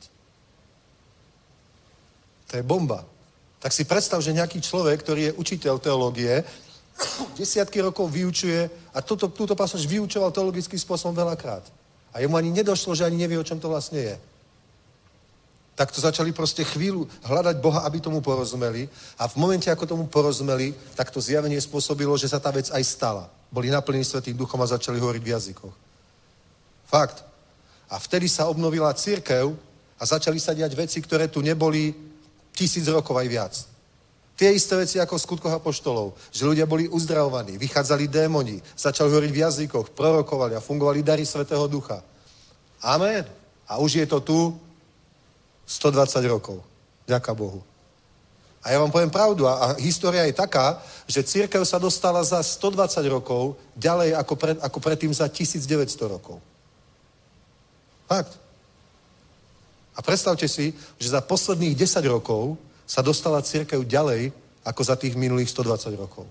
To je bomba. Tak si predstav, že nejaký človek, ktorý je učiteľ teológie, desiatky rokov vyučuje a túto pasáž vyučoval teologickým spôsobom veľakrát. A jemu ani nedošlo, že ani nevie, o čom to vlastne je. Tak to začali proste chvíľu hľadať Boha, aby tomu porozumeli. A v momente, ako tomu porozumeli, tak to zjavenie spôsobilo, že sa tá vec aj stala. Boli naplnení Svätým Duchom a začali hovoriť v jazykoch. Fakt. A vtedy sa obnovila cirkev a začali sa diať veci, ktoré tu neboli 1000 rokov aj viac. Tie isté veci ako v Skutkoch apoštolov, že ľudia boli uzdravovaní, vychádzali démoni, začali hovoriť v jazykoch, prorokovali a fungovali dary Svätého Ducha. Amen. A už je to tu 120 rokov. Ďaká Bohu. A ja vám poviem pravdu. A história je taká, že cirkev sa dostala za 120 rokov ďalej ako predtým za 1900 rokov. Fakt. A predstavte si, že za posledných 10 rokov sa dostala cirkev ďalej ako za tých minulých 120 rokov.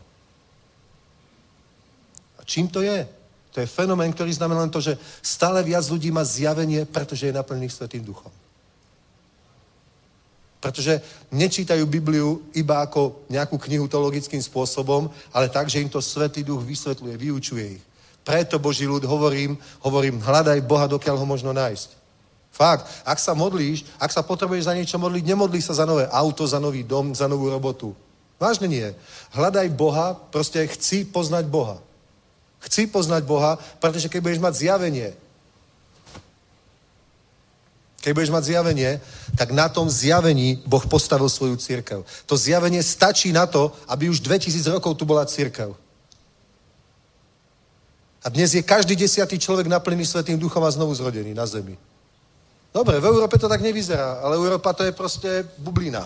A čím to je? To je fenomén, ktorý znamená len to, že stále viac ľudí má zjavenie, pretože je naplnených Svätým Duchom. Pretože nečítajú Bibliu iba ako nejakú knihu teologickým spôsobom, ale tak, že im to Svätý Duch vysvetľuje, vyučuje ich. Preto, Boží ľud, hovorím, hľadaj Boha, dokiaľ ho možno nájsť. Fakt. Ak sa modlíš, ak sa potrebuješ za niečo modliť, nemodlí sa za nové auto, za nový dom, za novú robotu. Vážne nie. Hľadaj Boha, proste chci poznať Boha. Chci poznať Boha, pretože keď budeš mať zjavenie, tak na tom zjavení Boh postavil svoju cirkev. To zjavenie stačí na to, aby už 2000 rokov tu bola cirkev. A dnes je každý 10. človek naplnený Svätým Duchom a znovu zrodený na zemi. Dobre, v Európe to tak nevyzerá, ale Európa to je proste bublina.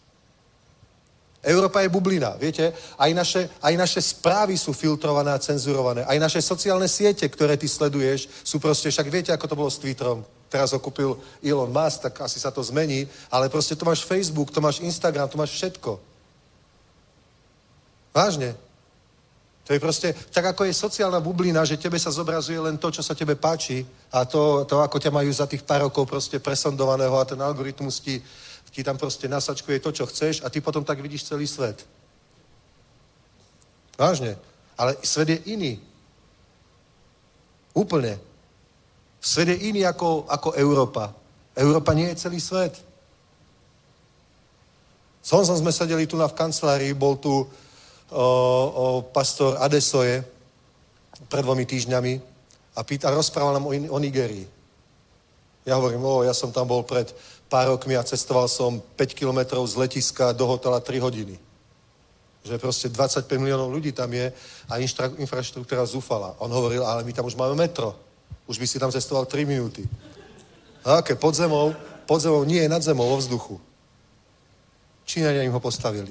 Európa je bublina, viete? Aj naše správy sú filtrované a cenzurované. Aj naše sociálne siete, ktoré ty sleduješ, sú proste, však viete, ako to bolo s Twitterom. Teraz ho kúpil Elon Musk, tak asi sa to zmení, ale proste to máš Facebook, to máš Instagram, to máš všetko. Vážne. To je proste, tak ako je sociálna bublina, že tebe sa zobrazuje len to, čo sa tebe páči a to ako ťa majú za tých pár rokov proste presondovaného a ten algoritmus ti tam proste nasačkuje to, čo chceš a ty potom tak vidíš celý svet. Vážne. Ale svet je iný. Úplne. Svet je iný ako Európa. Európa nie je celý svet. S Honzom sme sedeli tu v kancelárii, bol tu pastor Adesoye pred 2 týždňami a rozprával nám o Nigérii. Ja hovorím, ja som tam bol pred pár rokmi a cestoval som 5 kilometrov z letiska do hotela 3 hodiny. Že proste 25 miliónov ľudí tam je a infraštruktúra zúfala. On hovoril, ale my tam už máme metro. Už by si tam cestoval 3 minúty. Aké? Pod zemou, nie, nad zemou, vo vzduchu. Číňania im ho postavili.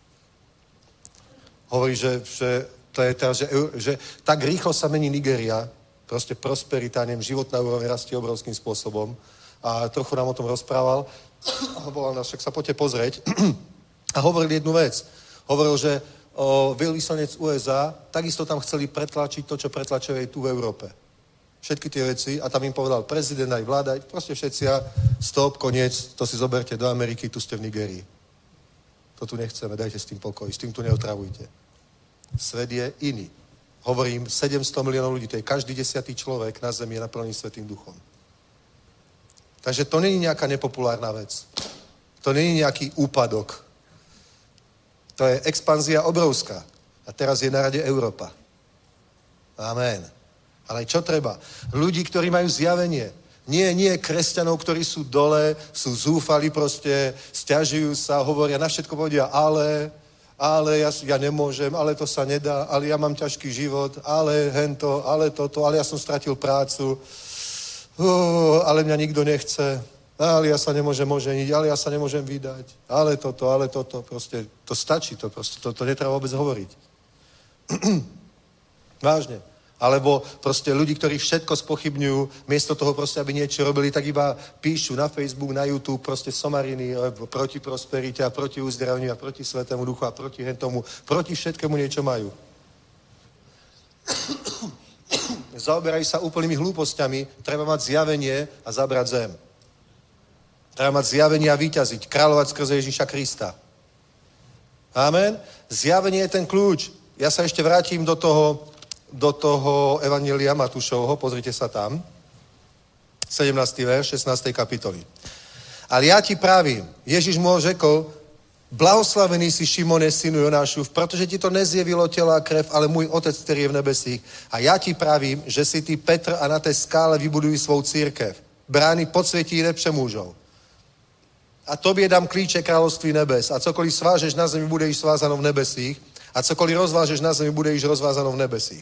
Hovorí, že to je teraz, že tak rýchlo sa mení Nigéria, proste prosperita, životná úroveň rastie obrovským spôsobom. A trochu nám o tom rozprával. A volal nás, však sa poďte pozrieť. A hovoril jednu vec. Hovoril, že veľvyslanec USA takisto tam chceli pretlačiť to, čo pretlačujú aj tu v Európe. Všetky tie veci a tam im povedal prezident aj vláda, proste všetci a stop, koniec, to si zoberte do Ameriky, tu ste v Nigérii. To tu nechceme, dajte s tým pokoj, s tým tu neotravujte. Svet je iný. Hovorím, 700 miliónov ľudí, to je každý 10. človek na zemi je naplnený Svätým duchom. Takže to není nejaká nepopulárna vec. To není nejaký úpadok. To je expanzia obrovská. A teraz je na rade Európa. Amen. Ale čo treba? Ľudí, ktorí majú zjavenie. Nie kresťanov, ktorí sú dole, sú zúfali proste, sťažujú sa, hovoria, na všetko povedia, ale ja nemôžem, ale to sa nedá, ale ja mám ťažký život, ale hento, ale toto, ale ja som stratil prácu, ale mňa nikto nechce, ale ja sa nemôžem oženiť, ale ja sa nemôžem vydať, ale toto, proste to stačí, to netreba vôbec hovoriť. Vážne. Alebo proste ľudí, ktorí všetko spochybňujú, miesto toho proste, aby niečo robili, tak iba píšu na Facebook, na YouTube, proste somariny proti prosperite a proti uzdraveniu a proti Svätému Duchu a proti hentomu, proti všetkému niečo majú. Zaoberajú sa úplnými hlúpostiami, treba mať zjavenie a zabrať zem. Treba mať zjavenie a víťaziť, kráľovať skrze Ježíša Krista. Amen? Zjavenie je ten kľúč. Ja sa ešte vrátim do toho Evanjelia Matúšovho, pozrite sa tam, 17. verš, 16. kapitoly. Ale ja ti pravím, Ježiš mu řekl, blahoslavený si Šimone, synu Jonášův, protože ti to nezjevilo tělo a krev, ale můj otec, který je v nebesích. A já ti pravím, že si ty Petr a na té skále vybudují svou církev. Brány podsvětí ji nepřemůžou. A tobě dám klíče království nebes. A cokoliv svážeš na zemi, bude již svázáno v nebesích. A cokoliv rozvážeš na zemi, bude již rozvázáno v nebesích.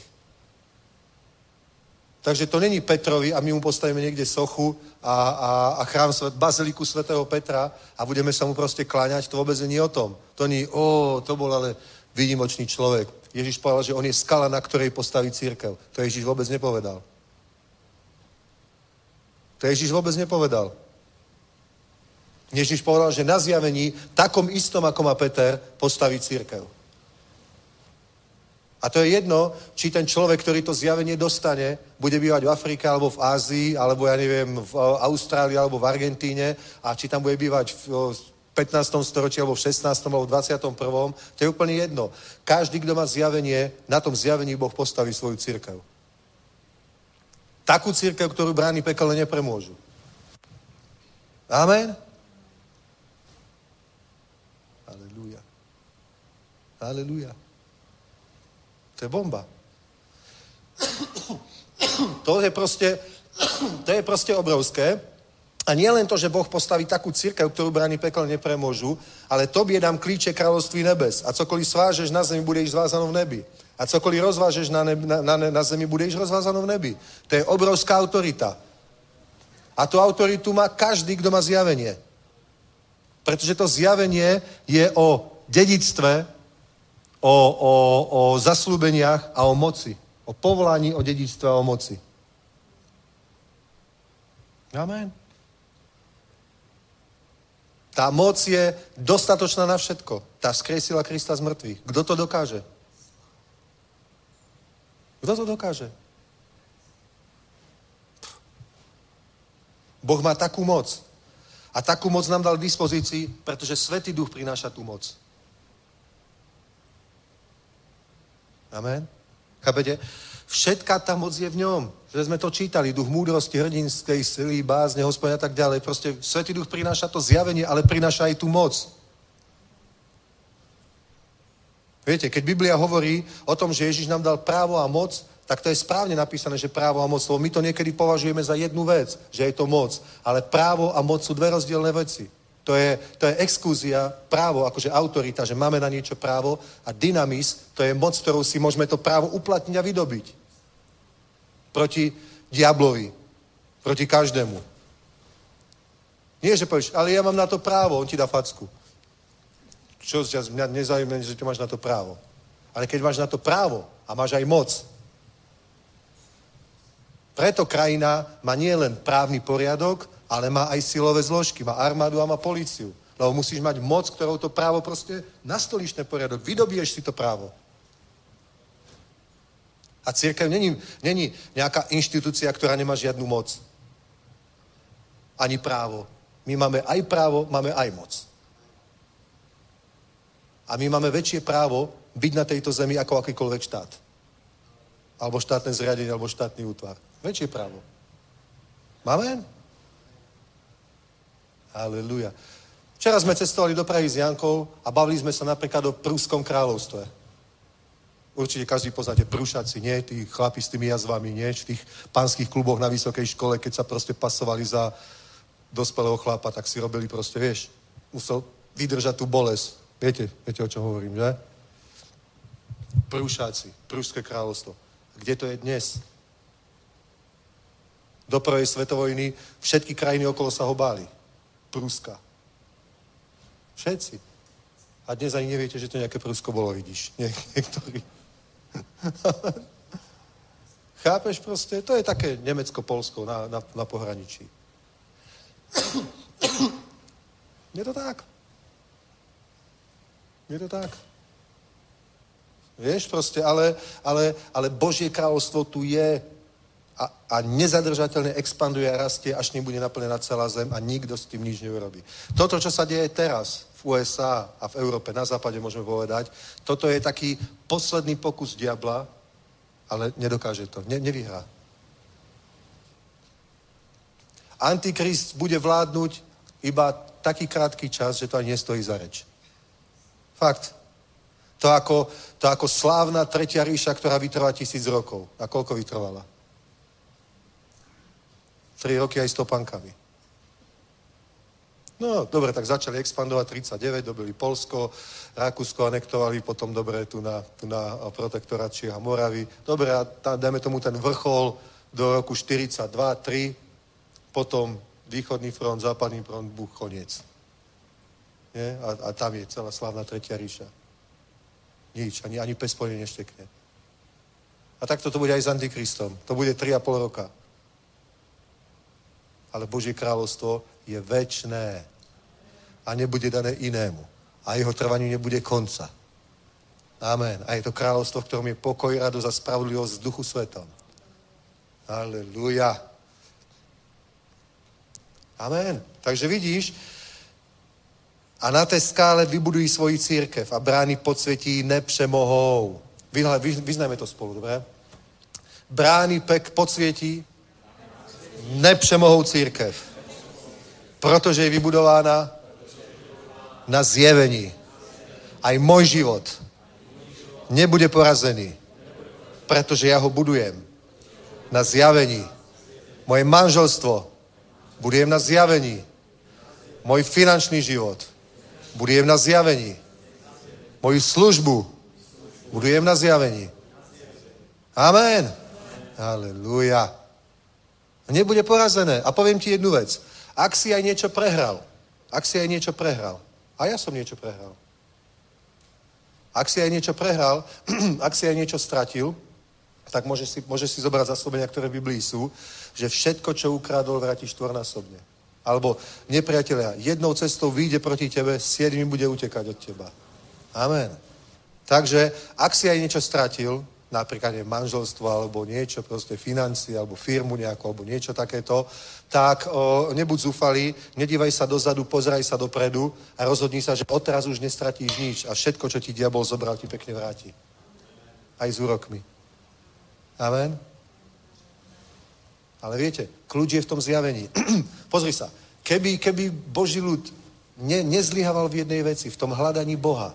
Takže to není Petrovi a my mu postavíme niekde sochu a chrám baziliku svätého Petra a budeme sa mu proste kláňať. To vôbec nie o tom. To nie, to bol ale výnimočný človek. Ježiš povedal, že on je skala, na ktorej postaví cirkev. To Ježiš vôbec nepovedal. To Ježiš vôbec nepovedal. Ježiš povedal, že na zjavení, takom istom, ako má Peter, postaví cirkev. A to je jedno, či ten človek, ktorý to zjavenie dostane, bude bývať v Afrike, alebo v Ázii, alebo ja neviem, v Austrálii, alebo v Argentíne, a či tam bude bývať v 15. storočí, alebo v 16. alebo v 21. To je úplne jedno. Každý, kto má zjavenie, na tom zjavení Boh postaví svoju cirkev. Takú cirkev, ktorú brány pekelné nepremôžu. Amen? Halelúja. Halelúja. To je bomba. To je proste obrovské. A nie len to, že Boh postaví takú cirkev, ktorú brány pekel nepremôžu, ale tobie dám klíče kráľovství nebes. A cokoliv svážeš na zemi, bude již zvázáno v nebi. A cokoliv rozvážeš na zemi, bude již rozvázáno v nebi. To je obrovská autorita. A tú autoritu má každý, kto má zjavenie. Pretože to zjavenie je o dedičstve, o zaslúbeniach a o moci. O povolaní, o dedičstve a o moci. Amen. Tá moc je dostatočná na všetko. Tá vzkriesila Krista z mŕtvych. Kto to dokáže? Kto to dokáže? Boh má takú moc. A takú moc nám dal k dispozícii, pretože Svätý Duch prináša tú moc. Amen. Chápete? Všetká tá moc je v ňom. Že sme to čítali. Duch múdrosti, hrdinskej sily, bázne, Hospodina a tak ďalej. Proste Svätý Duch prináša to zjavenie, ale prináša aj tú moc. Viete, keď Biblia hovorí o tom, že Ježiš nám dal právo a moc, tak to je správne napísané, že právo a moc. My to niekedy považujeme za jednu vec, že je to moc. Ale právo a moc sú dve rozdielne veci. To je exkluzia, právo, akože autorita, že máme na niečo právo, a dynamis, to je moc, ktorou si môžeme to právo uplatniť a vydobiť. Proti diablovi. Proti každému. Nie, že povieš, ale ja mám na to právo, on ti dá facku. Čo mňa nezaujíma, že ty máš na to právo. Ale keď máš na to právo a máš aj moc, preto krajina má nie len právny poriadok, ale má aj silové zložky, má armádu a má políciu. Lebo musíš mať moc, ktorou to právo proste nastolíš ten poriadok, vydobiješ si to právo. A cirkev není nejaká inštitúcia, ktorá nemá žiadnu moc. Ani právo. My máme aj právo, máme aj moc. A my máme väčšie právo byť na tejto zemi ako akýkoľvek štát. Alebo štátne zriadenie, alebo štátny útvar. Väčšie právo. Máme? Halelúja. Včera sme cestovali do Prahy s Jankou a bavili sme sa napríklad o Pruskom kráľovstve. Určite každý poznáte Prúšaci, nie? Tí chlapi s tými jazvami, nie? V tých pánskych kluboch na vysokej škole, keď sa proste pasovali za dospelého chlapa, tak si robili proste, vieš, musel vydržať tú bolesť. Viete, o čom hovorím, že? Prúšáci, Prúšské kráľovstvo. Kde to je dnes? Do prvej svetovojny všetky krajiny okolo sa ho báli. Prúska. Všetci. A dnes ani neviete, že to nejaké Prúsko bolo, vidíš. Niektorí. Chápeš proste? To je také Nemecko-Polsko na pohraničí. Je to tak. Je to tak. Vieš proste, ale Božie kráľovstvo tu je a nezadržateľne expanduje a rastie, až nebude naplnená celá zem a nikto s tým nič neurobí. Toto, čo sa deje teraz v USA a v Európe, na západe môžeme povedať, toto je taký posledný pokus diabla, ale nedokáže to, nevyhrá. Antikrist bude vládnuť iba taký krátky čas, že to ani nestojí za reč. Fakt. To ako slávna tretia ríša, ktorá vytrvá 1000 rokov. A koľko vytrvala? 3 roky aj s topánkami. No, dobre, tak začali expandovať 39, dobili Polsko, Rakúsko anektovali, potom dobre tu na protektorát Čiech a Moravy. Dobre, a dajme tomu ten vrchol do roku 42-3, potom východný front, západný front, koniec. Nie? A tam je celá slávna tretia ríša. Nič, ani pes po nej neštekne. A takto to bude aj s Antikristom. To bude 3,5 roka. Ale Božie kráľovstvo je večné a nebude dané inému. A jeho trvaniu nebude konca. Amen. A je to kráľovstvo, v ktorom je pokoj, radosť a spravodlivosť v Duchu Svetom. Halelúja. Amen. Takže vidíš, a na té skále vybudují svoji církev a brány podsvětí nepřemohou. Vyznajme to spolu, dobré? Brány podsvětí nepřemohou církev, protože je vybudována na zjevení. Aj môj život nebude porazený, protože ja ho budujem na zjavení. Moje manželstvo budujem na zjavení. Môj finančný život budujem na zjavení. Moju službu budujem na zjavení. Amen. Halelúja. Nebude porazené. A poviem ti jednu vec. Ak si aj niečo prehral, a ja som niečo prehral. Ak si aj niečo prehral, ak si aj niečo stratil, tak môžeš si zobrať zaslúbenia, ktoré v Biblii sú, že všetko, čo ukrádol, vráti štvornásobne. Alebo nepriatelia, jednou cestou vyjde proti tebe, 7 bude utekať od teba. Amen. Takže, ak si aj niečo stratil, napríklad manželstvo, alebo niečo, proste financie, alebo firmu nejakú, alebo niečo takéto, tak nebuď zúfalý, nedívaj sa dozadu, pozeraj sa dopredu a rozhodni sa, že odteraz už nestratíš nič a všetko, čo ti diabol zobral, ti pekne vráti. Aj s úrokmi. Amen. Ale viete, kľúč je v tom zjavení. Pozri sa, keby Boží ľud nezlyhával v jednej veci, v tom hľadaní Boha,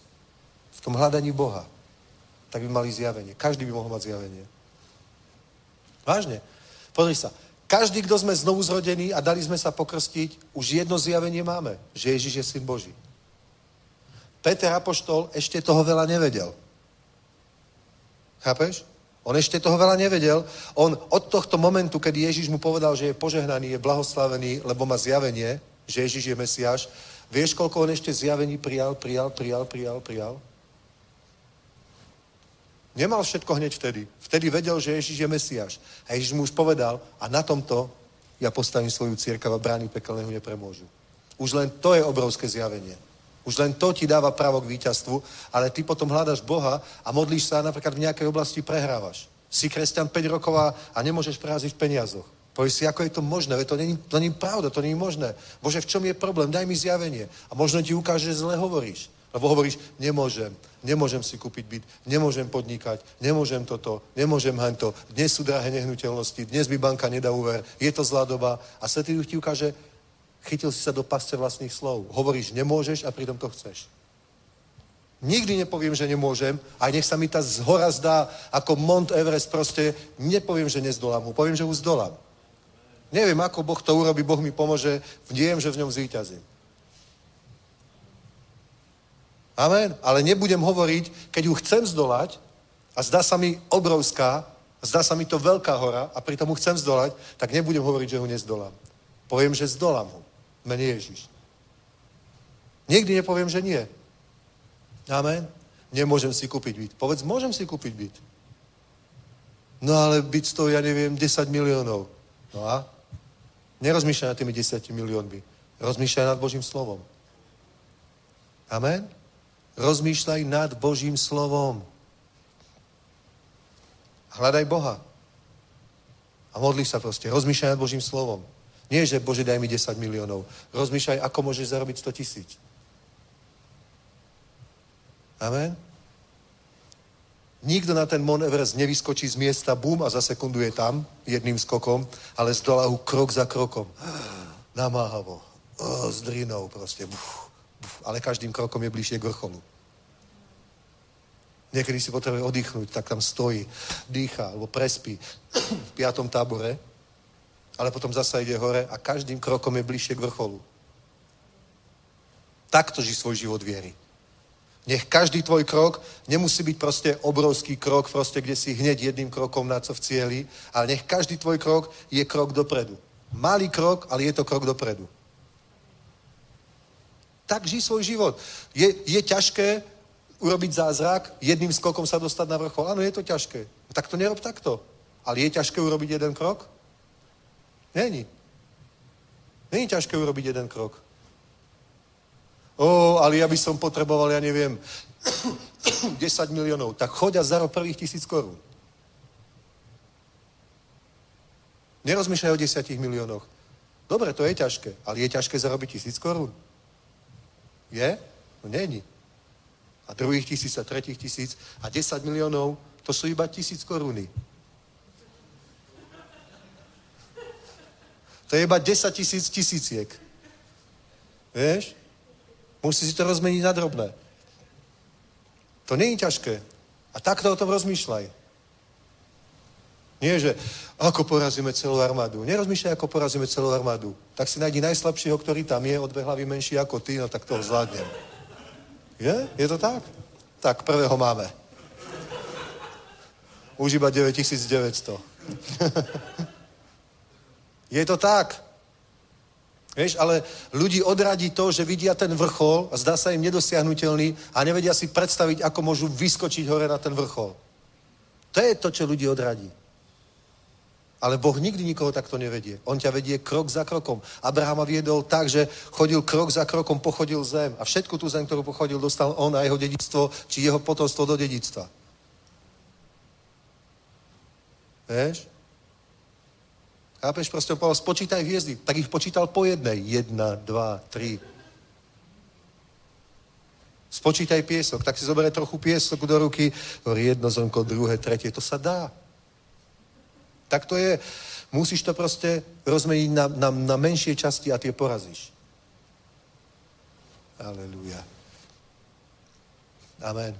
tak by mali zjavenie. Každý by mohol mať zjavenie. Vážne. Pozri sa, každý, kto sme znovu zrodení a dali sme sa pokrstiť, už jedno zjavenie máme, že Ježiš je syn Boží. Peter apoštol ešte toho veľa nevedel. Chápeš? On ešte toho veľa nevedel. On od tohto momentu, kedy Ježiš mu povedal, že je požehnaný, je blahoslavený, lebo má zjavenie, že Ježiš je Mesiáš, vieš, koľko on ešte zjavení prijal? Nemal všetko hneď vtedy. Vtedy vedel, že Ježiš je Mesiáš. A Ježiš mu už povedal, a na tomto ja postavím svoju cirkev a brány pekelného nepremôžu. Už len to je obrovské zjavenie. Už len to ti dáva právo k víťazstvu, ale ty potom hľadaš Boha a modlíš sa a napríklad v nejakej oblasti prehrávaš. Si kresťan 5 rokov a nemôžeš práziť v peniazoch. Povieš si, ako je to možné? To není pravda, to není možné. Bože, v čom je problém? Daj mi zjavenie. A možno ti ukáže, že zle hovoríš. Lebo hovoríš, nemôžem si kúpiť byt, nemôžem podnikať, nemôžem toto, nemôžem hento. Dnes sú drahé nehnuteľnosti, dnes mi banka nedá úver, je to zlá doba. A Svätý Duch ti ukáže, chytil si sa do pasce vlastných slov. Hovoríš, nemôžeš a pritom to chceš. Nikdy nepoviem, že nemôžem, a nech sa mi tá zhora zdá ako Mount Everest, proste nepoviem, že nezdolám ho, poviem, že ho zdolám. Neviem, ako Boh to urobí, Boh mi pomôže, viem, že v ňom zvíťazím. Amen. Ale nebudem hovoriť, keď ju chcem zdolať a zdá sa mi obrovská, zdá sa mi to veľká hora a pritom ju chcem zdolať, tak nebudem hovoriť, že ho nezdolám. Poviem, že zdolám ho. Mene Ježiš. Nikdy nepoviem, že nie. Amen. Nemôžem si kúpiť byt. Povedz, môžem si kúpiť byt. No ale byt stojí, ja neviem, 10 miliónov. No a? Nerozmýšľaj nad tými 10 miliónmi. Rozmýšľaj nad Božím slovom. Amen. Rozmýšľaj nad Božím slovom. Hľadaj Boha. A modli sa proste. Rozmýšľaj nad Božím slovom. Nie, že Bože, daj mi 10 miliónov. Rozmýšľaj, ako môžeš zarobiť 100 000. Amen. Nikto na ten Mount Everest nevyskočí z miesta, bum, a za sekundu je tam, jedným skokom, ale zdolá ho krok za krokom. Namáhavo. S drinou proste. Ale každým krokom je bližšie k vrcholu. Niekedy si potrebuje oddychnúť, tak tam stojí, dýcha, alebo prespí v 5. tábore, ale potom zasa ide hore a každým krokom je bližšie k vrcholu. Takto ži svoj život viery. Nech každý tvoj krok nemusí byť proste obrovský krok, proste kde si hneď jedným krokom na co v cieli, ale nech každý tvoj krok je krok dopredu. Malý krok, ale je to krok dopredu. Tak žij svoj život. Je ťažké urobiť zázrak, jedným skokom sa dostať na vrchol. Áno, je to ťažké. Tak to nerob takto. Ale je ťažké urobiť jeden krok? Není. Není ťažké urobiť jeden krok. Ale ja by som potreboval, ja neviem, 10 miliónov. Tak choď a zarob prvých 1000 korún. Nerozmýšľaj o 10 miliónoch. Dobre, to je ťažké, ale je ťažké zarobiť 1000 korún. Je? No není. A druhých 1000 a tretích 1000 a 10 miliónov, to sú iba 1000 koruny. To je iba 10 000 tisíciek. Vieš? Musí si to rozmeniť na drobné. To nie je ťažké. A takto o tom rozmýšľaj. Nie, že ako porazíme celú armádu. Nerozmýšľaj, ako porazíme celú armádu. Tak si nájdi najslabšieho, ktorý tam je, o 2 hlavy menší ako ty, no tak toho zvládnem. Je? Je to tak? Tak, prvého máme. Už iba 9900. Je to tak. Vieš, ale ľudí odradí to, že vidia ten vrchol a zdá sa im nedosiahnutelný a nevedia si predstaviť, ako môžu vyskočiť hore na ten vrchol. To je to, čo ľudí odradí. Ale Boh nikdy nikoho takto nevedie. On ťa vedie krok za krokom. Abrahama viedol tak, že chodil krok za krokom, pochodil zem. A všetku tú zem, ktorú pochodil, dostal on a jeho dedičstvo, či jeho potomstvo do dedičstva. Vieš? Chápeš? Proste povedal, spočítaj hviezdy. Tak ich počítal po jednej. 1, 2, 3. Spočítaj piesok. Tak si zoberie trochu piesok do ruky. Jedno zrnko, druhé, tretie. To sa dá. Tak to je. Musíš to proste rozmeniť na menšie časti a tie porazíš. Aleluja. Amen.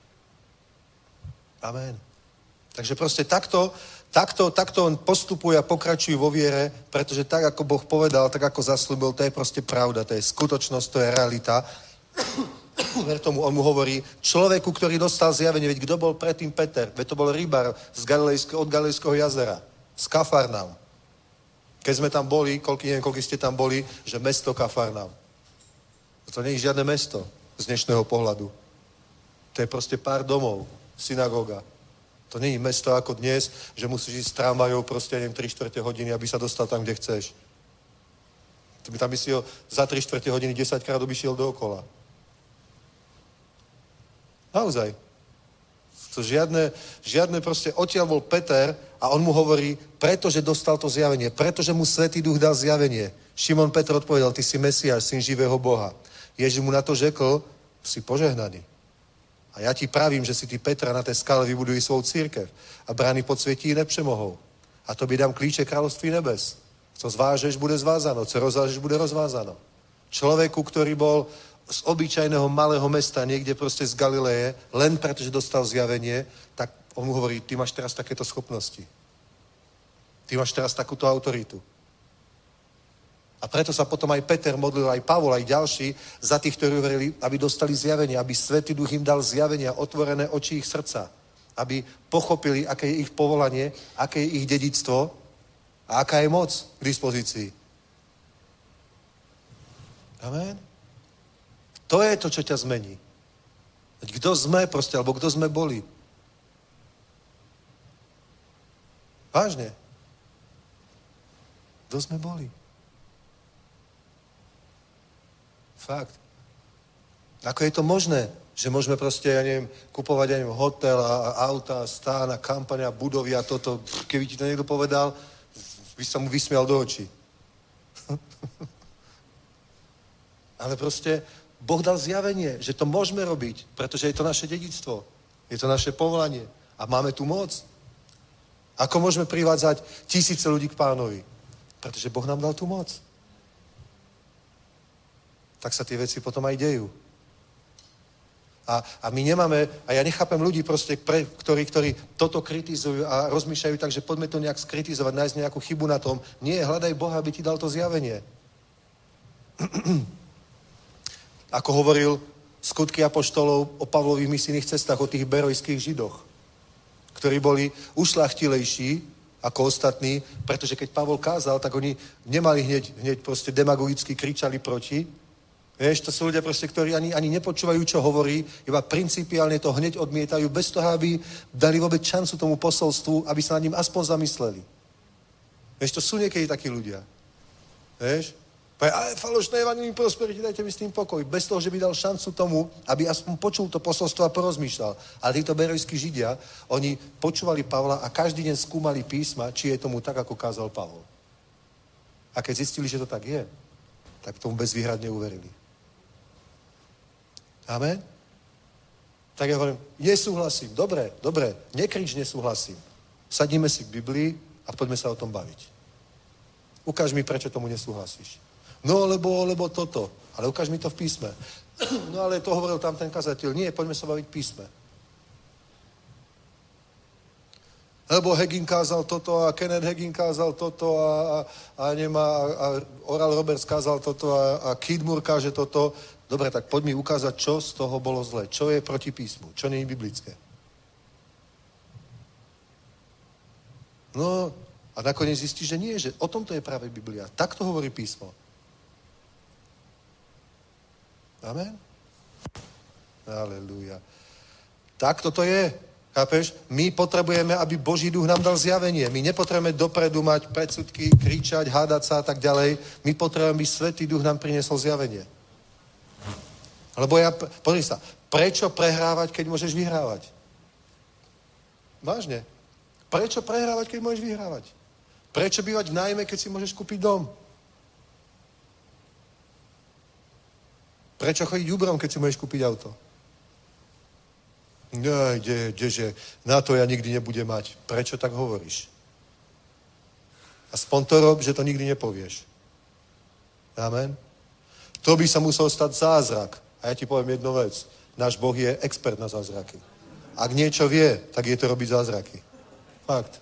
Amen. Takže proste takto on postupuje a pokračuje vo viere, pretože tak, ako Boh povedal, tak, ako zasľúbil, to je proste pravda, to je skutočnosť, to je realita. Ver tomu, on mu hovorí, človeku, ktorý dostal zjavenie, veď kto bol predtým Peter? Veď to bol rybár od Galilejského jazera, z Kafarnaum. Keď sme tam boli, neviem, koľko ste tam boli, že mesto Kafarnaum. To nie je žiadne mesto z dnešného pohľadu. To je proste pár domov, synagóga. To nie je mesto ako dnes, že musíš ísť s tramvajou proste, neviem, 3/4 hodiny, aby sa dostal tam, kde chceš. Tam by si ho za 3/4 hodiny 10-krát obišiel dookola. Naozaj. To žiadne proste, odtiaľ bol Peter a on mu hovorí, pretože dostal to zjavenie, pretože mu Svätý Duch dal zjavenie. Šimon Petr odpovedal, ty si Mesiáš, syn živého Boha. Ježiš mu na to řekl, si požehnaný. A ja ti pravím, že si ty Petra na té skale vybudují svou církev a brány podsvětí ji nepřemohou. A to by dám klíče kráľovství nebes. Co zvážeš, bude zvázáno. Co rozvážeš, bude rozvázáno. Človeku, ktorý bol z obyčajného malého mesta, niekde proste z Galileje, len pretože dostal zjavenie, tak on mu hovorí, ty máš teraz takéto schopnosti. Ty máš teraz takúto autoritu. A preto sa potom aj Peter modlil, aj Pavol, aj ďalší, za tých, ktorí verili, aby dostali zjavenie, aby Svätý Duch im dal zjavenie a otvorené oči ich srdca. Aby pochopili, aké je ich povolanie, aké je ich dedičstvo a aká je moc k dispozícii. Amen. To je to, čo ťa zmení. Kto sme proste, alebo kto sme boli. Vážne. Kto sme boli. Fakt. Ako je to možné, že môžeme proste, ja neviem, kupovať, ja neviem, hotel a auta, stán a kampaň a budovy a toto. Keby ti to niekto povedal, by sa mu vysmial do očí. Ale proste Boh dal zjavenie, že to môžeme robiť, pretože je to naše dedičstvo. Je to naše povolanie. A máme tu moc. Ako môžeme privádzať tisíce ľudí k Pánovi? Pretože Boh nám dal tú moc. Tak sa tie veci potom aj dejú. A my nemáme, a ja nechápem ľudí proste, ktorí toto kritizujú a rozmýšľajú tak, že poďme to nejak skritizovať, nájsť nejakú chybu na tom. Nie, hľadaj Boha, aby ti dal to zjavenie. Ako hovoril Skutky apoštolov o Pavlových misijných cestách, o tých berojských Židoch, ktorí boli ušľachtilejší ako ostatní, pretože keď Pavol kázal, tak oni nemali hneď proste demagogicky kričali proti. Vieš, to sú ľudia proste, ktorí ani nepočúvajú, čo hovorí, iba principiálne to hneď odmietajú, bez toho, aby dali vôbec šancu tomu posolstvu, aby sa nad ním aspoň zamysleli. Vieš, to sú niekedy takí ľudia. Vieš? Ale falošné evanjelium prosperity, dajte mi s tým pokoj. Bez toho, že by dal šancu tomu, aby aspoň počul to posolstvo a porozmýšľal. Ale títo berojskí Židia, oni počúvali Pavla a každý deň skúmali písma, či je tomu tak, ako kázal Pavol. A keď zistili, že to tak je, tak tomu bezvýhradne uverili. Amen? Tak ja hovorím, nesúhlasím. Dobre, nekrič nesúhlasím. Sadnime si k Biblii a poďme sa o tom baviť. Ukáž mi, prečo tomu nesúhlasíš. No, lebo toto. Ale ukáž mi to v písme. No, ale to hovoril tam ten kazateľ. Nie, poďme sa baviť v písme. Lebo Hagin kázal toto a Kenneth Hagin kázal toto a Oral Roberts kázal toto a Keith Moore káže toto. Dobre, tak poď mi ukázať, čo z toho bolo zle. Čo je proti písmu. Čo nie je biblické. No, a nakoniec zistíš, že nie, že o tomto je práve Biblia. Tak to hovorí písmo. Amen? Halelúja. Tak toto je. Chápeš? My potrebujeme, aby Boží duch nám dal zjavenie. My nepotrebujeme dopredu mať predsudky, kričať, hádať sa a tak ďalej. My potrebujeme, aby Svätý duch nám priniesol zjavenie. Lebo pozri sa, prečo prehrávať, keď môžeš vyhrávať? Vážne. Prečo prehrávať, keď môžeš vyhrávať? Prečo bývať v nájme, keď si môžeš kúpiť dom? Prečo chodiť Uberom, keď si môžeš kúpiť auto? Kdeže, na to ja nikdy nebudem mať. Prečo tak hovoríš? Aspoň to rob, že to nikdy nepovieš. Amen? To by sa musel stať zázrak. A ja ti poviem jednu vec. Náš Boh je expert na zázraky. Ak niečo vie, tak je to robiť zázraky. Fakt.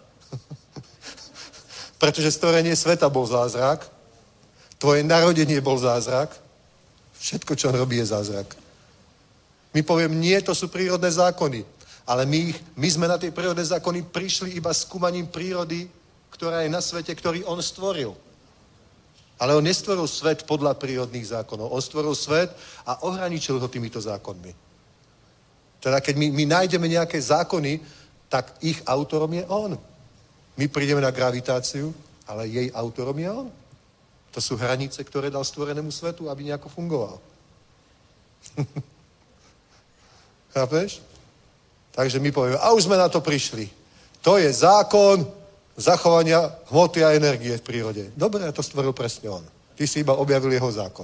Pretože stvorenie sveta bol zázrak, tvoje narodenie bol zázrak, všetko, čo on robí, je zázrak. My poviem, nie, to sú prírodné zákony. Ale my sme na tie prírodné zákony prišli iba skúmaním prírody, ktorá je na svete, ktorý on stvoril. Ale on nestvoril svet podľa prírodných zákonov. On stvoril svet a ohraničil ho týmito zákonmi. Teda keď my nájdeme nejaké zákony, tak ich autorom je on. My prídeme na gravitáciu, ale jej autorom je on. To sú hranice, ktoré dal stvorenému svetu, aby nejako fungoval. Chápeš? Takže my povieme, a už sme na to prišli. To je zákon zachovania hmoty a energie v prírode. Dobre, to stvoril presne on. Ty si iba objavil jeho zákon.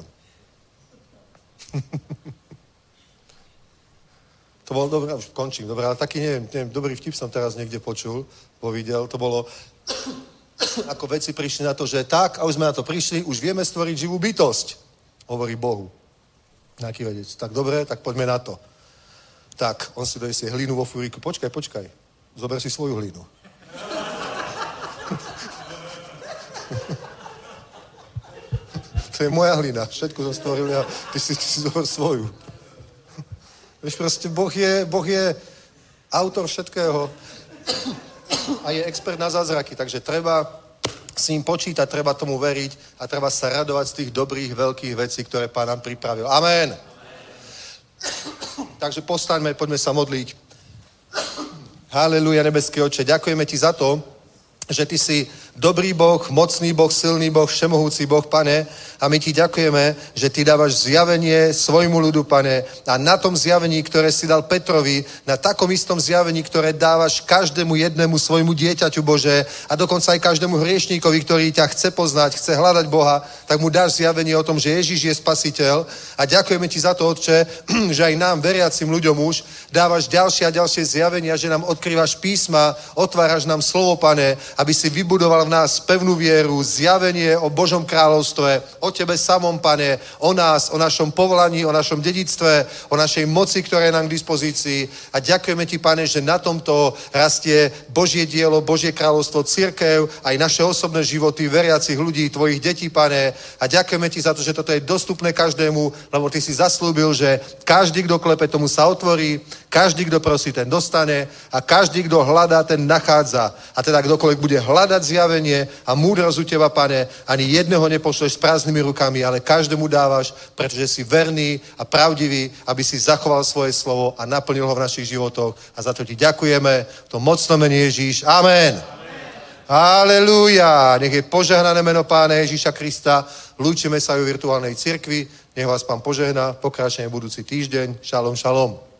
To bolo dobré, už končím, dobré, ale taký, neviem, dobrý vtip som teraz niekde počul, videl, to bolo, ako vedci prišli na to, že tak, a už sme na to prišli, už vieme stvoriť živú bytosť, hovorí Bohu. Nejaký vedec, tak dobre, tak poďme na to. Tak, on si dojesie hlínu vo fúriku, počkaj, zober si svoju hlínu. To je moja hlina, všetko som stvoril ja, ty si zober svoju. Víš, proste Boh je autor všetkého a je expert na zázraky, takže treba s ním počítať, treba tomu veriť a treba sa radovať z tých dobrých, veľkých vecí, ktoré Pán nám pripravil. Amen. Takže postaňme, poďme sa modliť. Haleluja, nebeský Otče, ďakujeme ti za to, že ty si dobrý Boh, mocný Boh, silný Boh, všemohúci Boh, Pane, a my ti ďakujeme, že ty dávaš zjavenie svojmu ľudu, Pane, a na tom zjavení, ktoré si dal Petrovi, na takom istom zjavení, ktoré dávaš každému jednému svojmu dieťaťu, Bože, a dokonca aj každému hriešníkovi, ktorý ťa chce poznať, chce hľadať Boha, tak mu dáš zjavenie o tom, že Ježiš je spasiteľ. A ďakujeme ti za to, Otče, že aj nám, veriacim ľuďom už, dávaš ďalšie a ďalšie zjavenia, že nám odkrývaš písma, otváraš nám slovo, Pane, aby si vybudoval v nás pevnú vieru, zjavenie o Božom kráľovstve, o tebe samom, Pane, o nás, o našom povolaní, o našom dedictve, o našej moci, ktorá je nám k dispozícii. A ďakujeme ti, Pane, že na tomto rastie Božie dielo, Božie kráľovstvo, cirkev, aj naše osobné životy veriacich ľudí, tvojich detí, Pane. A ďakujeme ti za to, že toto je dostupné každému, lebo ty si zaslúbil, že každý, kto klepe, tomu sa otvorí, každý, kto prosí, ten dostane a každý, kto hľadá, ten nachádza. A teda kdokoľvek bude hľadať zjavenie a múdrosť u teba, Pane, ani jedného nepošleš s prázdnymi rukami, ale každému dávaš, pretože si verný a pravdivý, aby si zachoval svoje slovo a naplnil ho v našich životoch. A za to ti ďakujeme. V tom mocnom mene Ježíš. Amen. Halelúja. Nech je požehnané meno Pána Ježíša Krista. Lúčime sa aj v virtuálnej cirkvi. Nech vás Pán požehná. Pokračujeme budúci týždeň. Šalom, šalom.